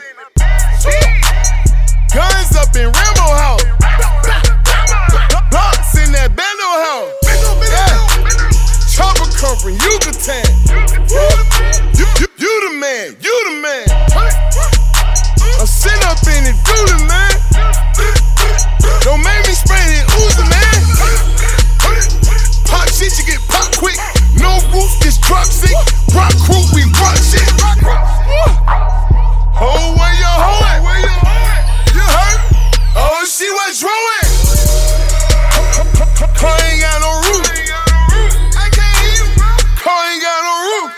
Guns up in Rambo house. Blocks in that bando house. Yeah. Chopper come from Yucatan. You the man, you the man. I'm sitting up in it, do the man. Don't make me spray that Uzi, man. Pop shit, you get pop quick. No roof, this truck sick. Rock crew, we rock shit. Oh, where you hoeing? You heard? Oh, she was drawing. Car ain't got no roof. I can't hear you, bro. Car ain't got no roof.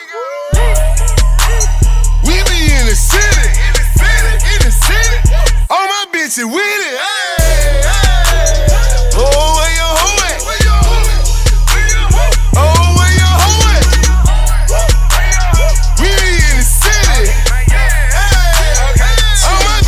We be in the city. In the city. All my bitches with it. Hey, hey. Oh, where you hoeing? Oh, where you hoeing? We be in the city. All my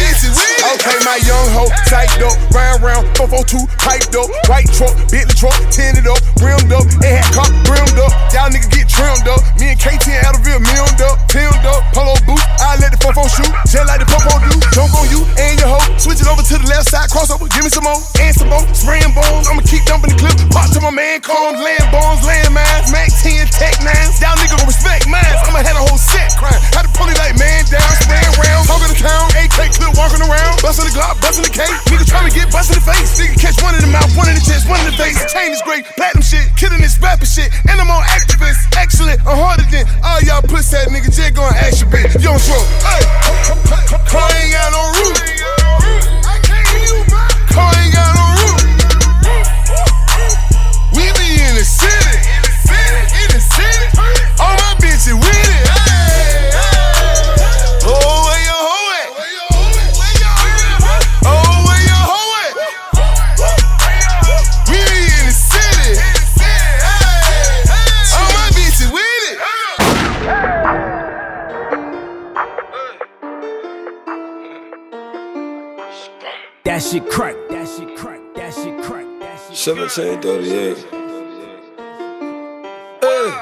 psyched up, round, 442, piped up, white truck, Bentley truck, tinted up, rimmed up, and had cop brimmed up. Y'all niggas get trimmed up. Me and KT and Adderall milled up, polo boots. I let the 4-4 shoot, just like the 4-4 do. Jump on you and your hoe, switch it over to the left side, crossover, give me some more, and some more. Spraying bones, I'ma keep dumping the clip. Pop to my man, cones, land bones, land mines, Mac 10, Tech 9s. Y'all niggas gon' respect mines. I'ma have a whole set crime. Had to pull it like man down, spraying rounds, talking the count, AK clip walking around, busting the Glock, busting the cake. Nigga tryna get busted in the face. Nigga catch one in the mouth, one in the chest, one in the face. Chain is great, platinum shit, killing this rapper shit. And I'm on activist, excellent, I'm harder than all y'all pussy ass niggas. Just gon' ask you, bitch. You don't throw. Hey, car ain't got no roof. Car ain't got no roof. We be in the city. In the city. All my bitches with it. Oh, where your hoe at? Oh, where your hoe at? We be in the city. All my bitches with it. That shit crack, that shit crack, that shit crack, that shit 1738. Hey,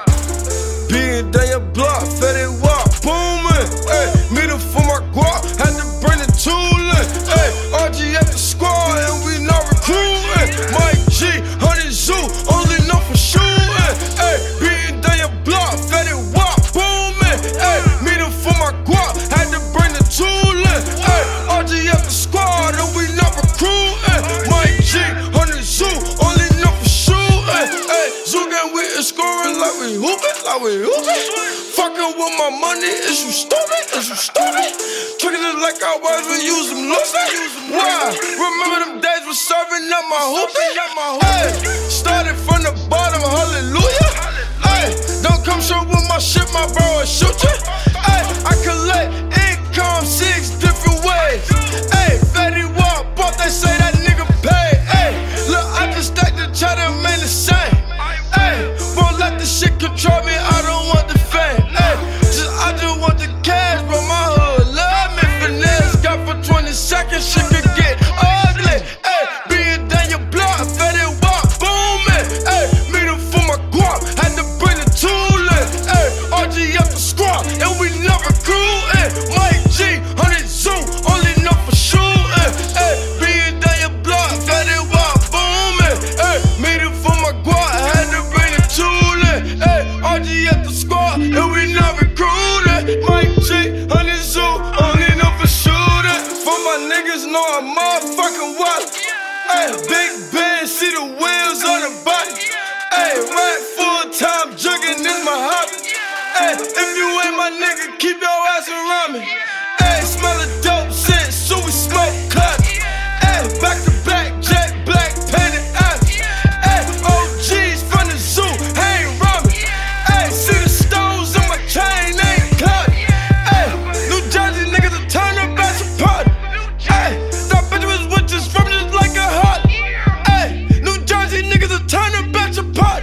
being down your block, fetty walk, booming. Hey, meet up for my guap, had to bring the toolin'. Hey, RG at the squad, and we not recruiting. Mike G, 100 Zoo, only known for shooting. Hey, being down your block, fetty walk, booming. Hey, meet up for my guap, had to bring the toolin'. Hey, RG at the squad, and we not recruiting. Mike G, 100 Zoo, only known for shooting. Hey, Zoo gang, we is scoring like we hoopin', like we hoopin'. Fucking with my money, is you stupid, is you stupid? Tricking it like I was, we use them losing. Why? Remember them days we serving up my hoopin'? Hey, started from the bottom, hallelujah. Hey, don't come show with my shit, my bro, I shoot you. Hey, I collect income 6 different ways. Hey, Fetty Walk, bought they say that nigga paid. Hey, look, I just stacked the cheddar, man, the same. Hey, won't let the shit control me, I don't want the fame. Hey, I just want the cash, but my hood love me. Finesse got for 20 seconds, shit could get ugly. Hey, being down your block, Fetty Walk, booming. Hey, meet up for my guap, had to bring the toolin'. Hey, RG up the squad, and we not recruiting. Mike G, 100 Zoo, only know for shooting. Hey, being down your block, Fetty Walk, booming. Hey, meet up for my guap, had to bring the toolin'. Hey, RG at the squad, and we not recruiting. Mike G, 100 Zoo, only know for shooting. For my niggas know I'm motherfucking wild. Hey, Big Ben, see the wheels on the body. Hey, right full time jugging is my hobby. Hey, if you ain't my nigga, keep your ass around me. Hey, smell of dope shit, so we smoke cut. Hey, back to back, jet black, painted ass. Hey, OGs from the zoo, hey, Robin. Hey, see the stones on my chain, ain't cut. Hey, New Jersey niggas will turn up at your party. Hey, that bitch was with just from just like a heart. Hey, New Jersey niggas will turn up at your party.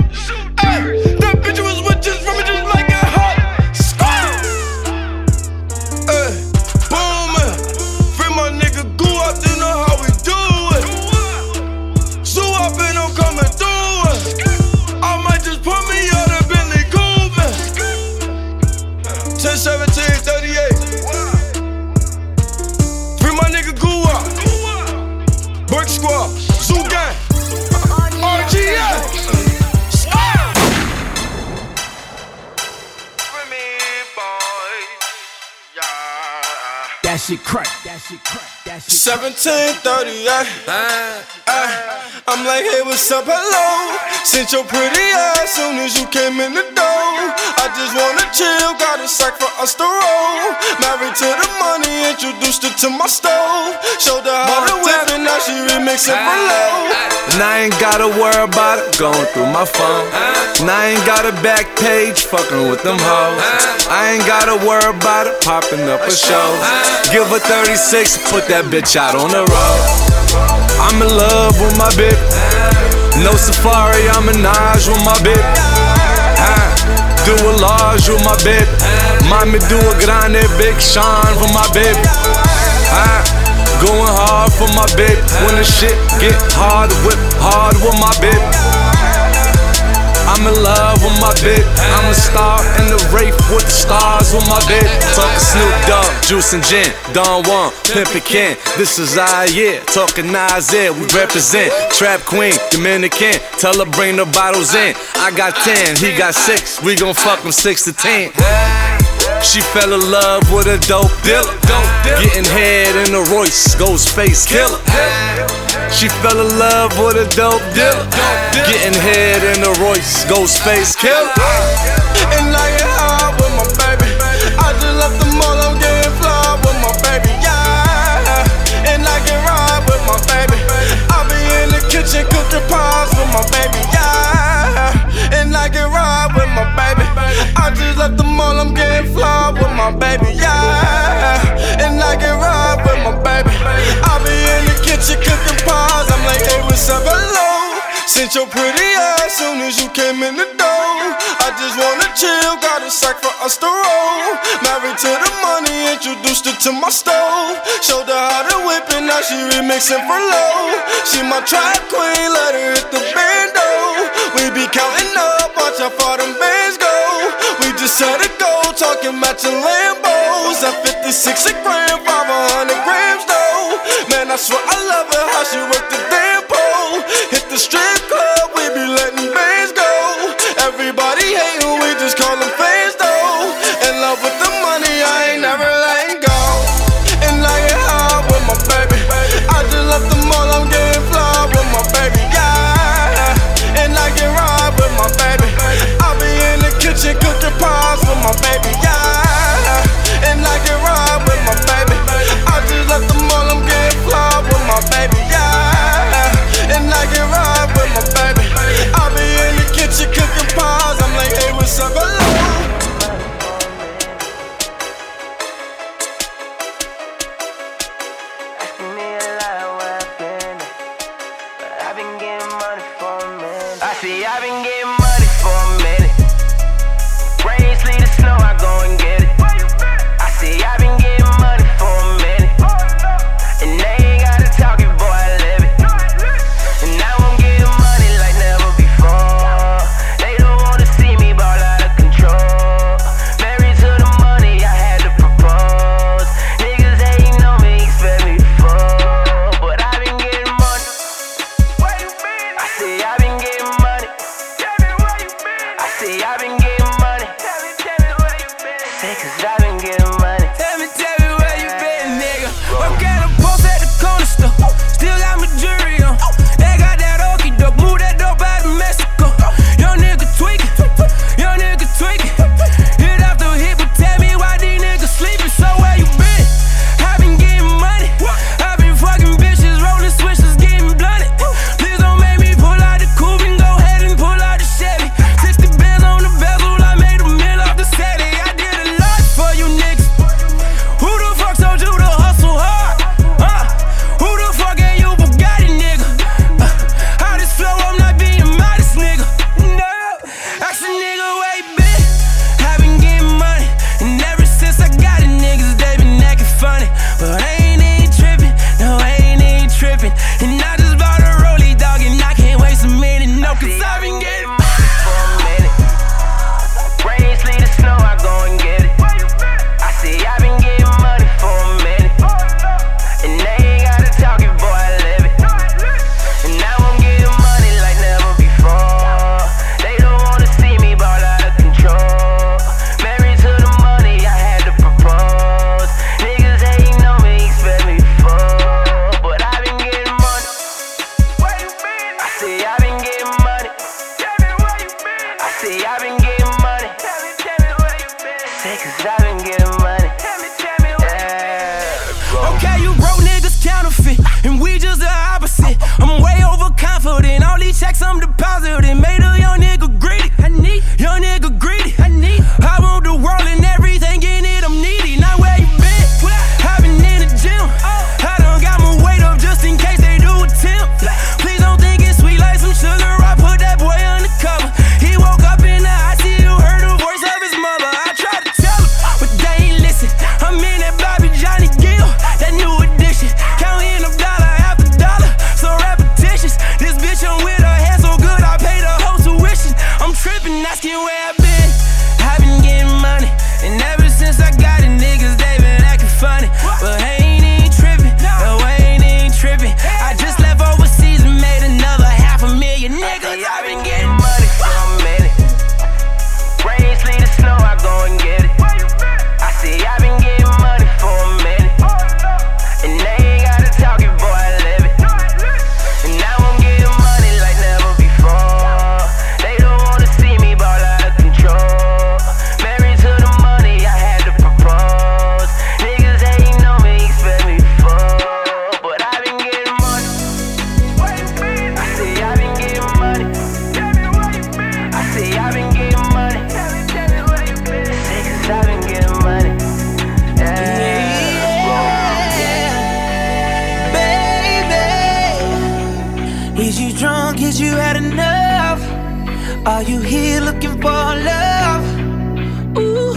Hey, that bitch was with just from just like a heart. Hey, booming. Free my nigga Goo up, you know how we do it. Zoo up and I'm coming through it. I might just put me on a Bentley Cooper. 10, 17, 38. Free my nigga Goo up. Brick Squad, Zoo Gang, RGA. That shit crack, that shit crack, that shit crack. 1738. I'm like, hey, what's up, hello? Sent your pretty ass soon as you came in the door. I just wanna chill, got a sack for us to roll. Married to the money, introduced her to my stove. Showed her how to whip it, now she remixing for low. And I ain't gotta worry about it going through my phone. And I ain't got a back page fucking with them hoes. I ain't gotta worry about it popping up a show. Give her 36, put that bitch out on the road. I'm in love with my bitch. No safari, I'm in Naj with my bitch. Do a large with my bitch. Mommy do a grande, Big Sean for my bitch. Going hard for my baby. When the shit get hard, whip hard with my baby. I'm in love with my baby. I'm a star in the race with the stars with my baby. Talking Snoop Dogg, Juice and Gin, Don Juan, Pimpin' Ken. This is our year. Talking Nasir, we represent. Trap Queen, Dominican. Tell her bring the bottles in. I got 10, he got 6. We gon' fuck him 6 to 10. She fell in love with a dope dealer. Getting head in a Royce, Ghostface killer. She fell in love with a dope dealer. Getting head in a Royce, Ghostface killer. And I get high with my baby. I just left the mall, I'm getting fly with my baby, yeah. And I can ride with my baby. I be in the kitchen cooking pies with my baby, yeah. And I can ride with my baby. I just left the mall, I'm getting fly with my baby, yeah. And I can ride with my baby. I be in the kitchen cooking pies. I'm like, hey, what's up, hello? Sent your pretty ass soon as you came in the door. I just wanna chill, got a sack for us to roll. Married to the money, introduced her to my stove. Showed her how to whip it, now she remixing for low. She my trap queen, let her hit the bando. We be counting up, watch how far them bands go. We just set a goal, talking matching Lambos. At 56 a gram, 500 grams though. Man, I swear I love her, how she work the damn pole. Hit the strip club, we be letting bands go. Everybody hatin', we just call them fans though. In love with the money, I ain't never letting go. And I get high with my baby. I just left the mall, I'm getting fly with my baby, yeah. And I can ride with my baby. I be in the kitchen cooking pies with my baby, yeah. And I can ride with my baby. I just left the mall, I'm getting fly with my baby, yeah. And I can ride with my baby. I be in the kitchen cooking pies. I'm like, hey, what's up, hello? I've been getting money for a minute. Rain, sleet, or snow, I go and get it. I see I've been getting money for a minute. And they ain't gotta talk it, boy, I live it. And now I'm getting money like never before. They don't wanna see me ball out of control. Married to the money, I had to propose. Niggas hating on me, expect me to fall. But I've been getting money. I see I've been getting money. I see I've been getting money. Say cause I've been getting money. Tell me where you been, nigga. Work at a post at the corner store. Still got my jury on. They got that okey doke. Move that dope out of Mexico. Young nigga tweaking. Young nigga tweaking. Hit after hit, but tell me why these niggas sleeping. So where you been? I been getting money. I been fucking bitches, rolling switches, getting blunted. Please don't make me pull out the coupe and go ahead and pull out the Chevy. 60 bands on the bezel, I made a meal off the Sadie. I did a lot for you niggas. Who the fuck told you to hustle hard? Who the fuck ain't you Bugatti, nigga? How this flow, I'm not being modest, nigga. No, ask a nigga where you been. I been getting money, and ever since I got it, niggas, they been acting funny. But I ain't even tripping, no, I ain't even tripping. And I just bought a rollie, dog, and I can't waste a minute, no, cause I been getting money for a minute. Rain, sleet, or snow, I go and get it. I see I've been getting money for a minute. And they ain't gotta talk it, boy, I live it. And now I'm getting money like never before. They don't wanna see me ball out of control. Married to the money, I had to propose. Niggas hating on me, expect me to fall. But I've been getting money. I see I've been getting money. I see I've been getting money. Say cause I've been getting money. Yeah. Okay, you broke niggas counterfeit, and we just the opposite. I'm way overconfident, all these checks I'm depositing. Made a young nigga greedy, young nigga greedy. I want the world and everything in it, I'm needy. Now where you been? I been in the gym. I done got my weight up just in case they do attempt. Please don't think it's sweet like some sugar, I put that boy undercover. He woke up in the ICU, heard the voice of his mother. I tried to tell him, but they ain't listen. I'm in that Bobby Johnny Gill, that new addiction. Counting up dollar, cause you had enough? Are you here looking for love? Ooh,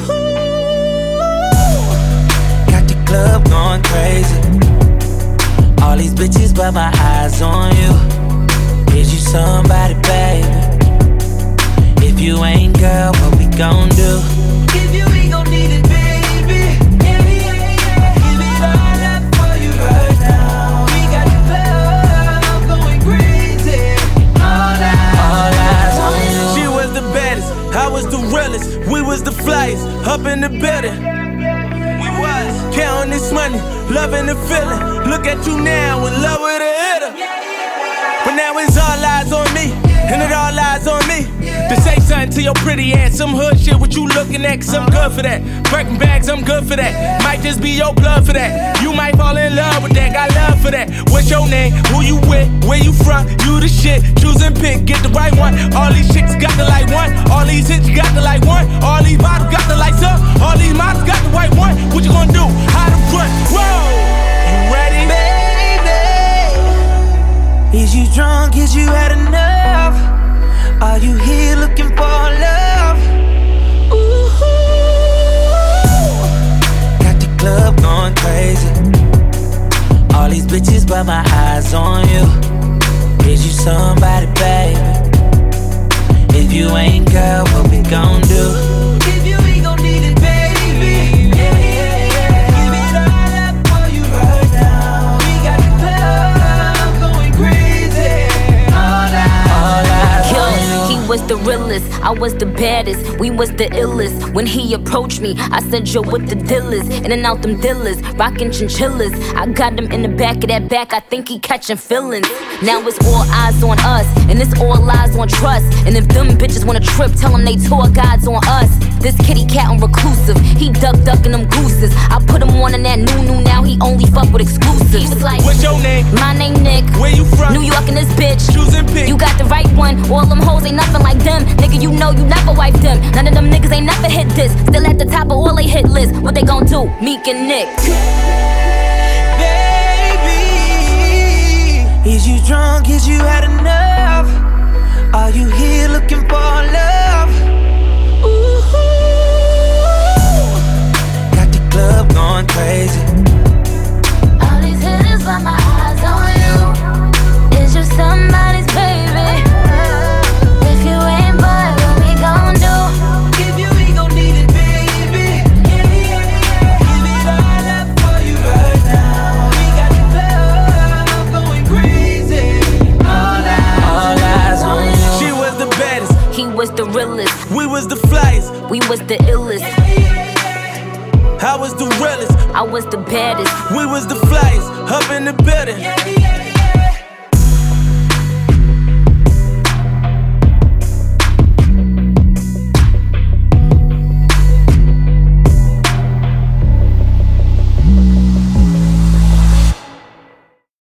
got the club going crazy. All these bitches but my eyes on you. Is you somebody, baby? If you ain't, girl, what we gon' do? If you ain't gon' need it, baby. Yeah, yeah, yeah. Give it all up for you right now. We got the club going crazy. All eyes on you. She was the baddest, I was the realest. We was the flyest, up in the building. We was counting this money, loving the feeling. Look at you now, in love with a hitter. But now it's all eyes on me, and it all lies on me. To say something to your pretty ass, some hood shit, what you looking at, cause I'm good for that. Birkin bags, I'm good for that. Might just be your blood for that. You might fall in love with that, got love for that. What's your name, who you with, where you from, you the shit. Choose and pick, get the right one. All these chicks got the like one, all these hits got the like one. All these bottles got the lights up, all these models got the white one. What you gonna do, how to run, whoa. You ready? Baby, is you drunk, is you had enough? Are you here looking for love? Ooh, got the club going crazy. All these bitches but my eyes on you. Is you somebody, baby? If you ain't, girl, what we gon' do? If you ain't gon' need it, baby. Yeah, yeah, yeah. Give it all up for you right now. We got the club going crazy. All eyes on you. He was the realest, I was the baddest, we was the illest. When he approached me, I said, yo, what the deal is? In and out them dealers, rockin' chinchillas. I got him in the back of that back, I think he catching feelings. Now it's all eyes on us, and it's all lies on trust. And if them bitches wanna trip, tell them they tour guides on us. This kitty cat on reclusive, he ducking them gooses. I put him on in that new, now he only fuck with exclusives. He was like, what's your name? My name Nick. Where you from? New York and this bitch. Choose and pick. You got the right one, all them hoes ain't nothing like them. Nigga, you know you never wiped them. None of them niggas ain't never hit this. Still at the top of all they hit list. What they gon' do? Meek and Nick. Baby, is you drunk? Is you had enough? Are you here looking for love? Ooh, got the club going crazy. All these hitters but my eyes on you. Is you somebody's baby? If you ain't, boy, what we gon' do? If you ain't gon' need it, baby. Yeah, yeah, yeah. Give it all up for you right now. We got the club going crazy. All eyes on you. She was the baddest, he was the realest. We was the flyest, we was the illest. I was the realest, I was the baddest. we was the flyest, up in the building.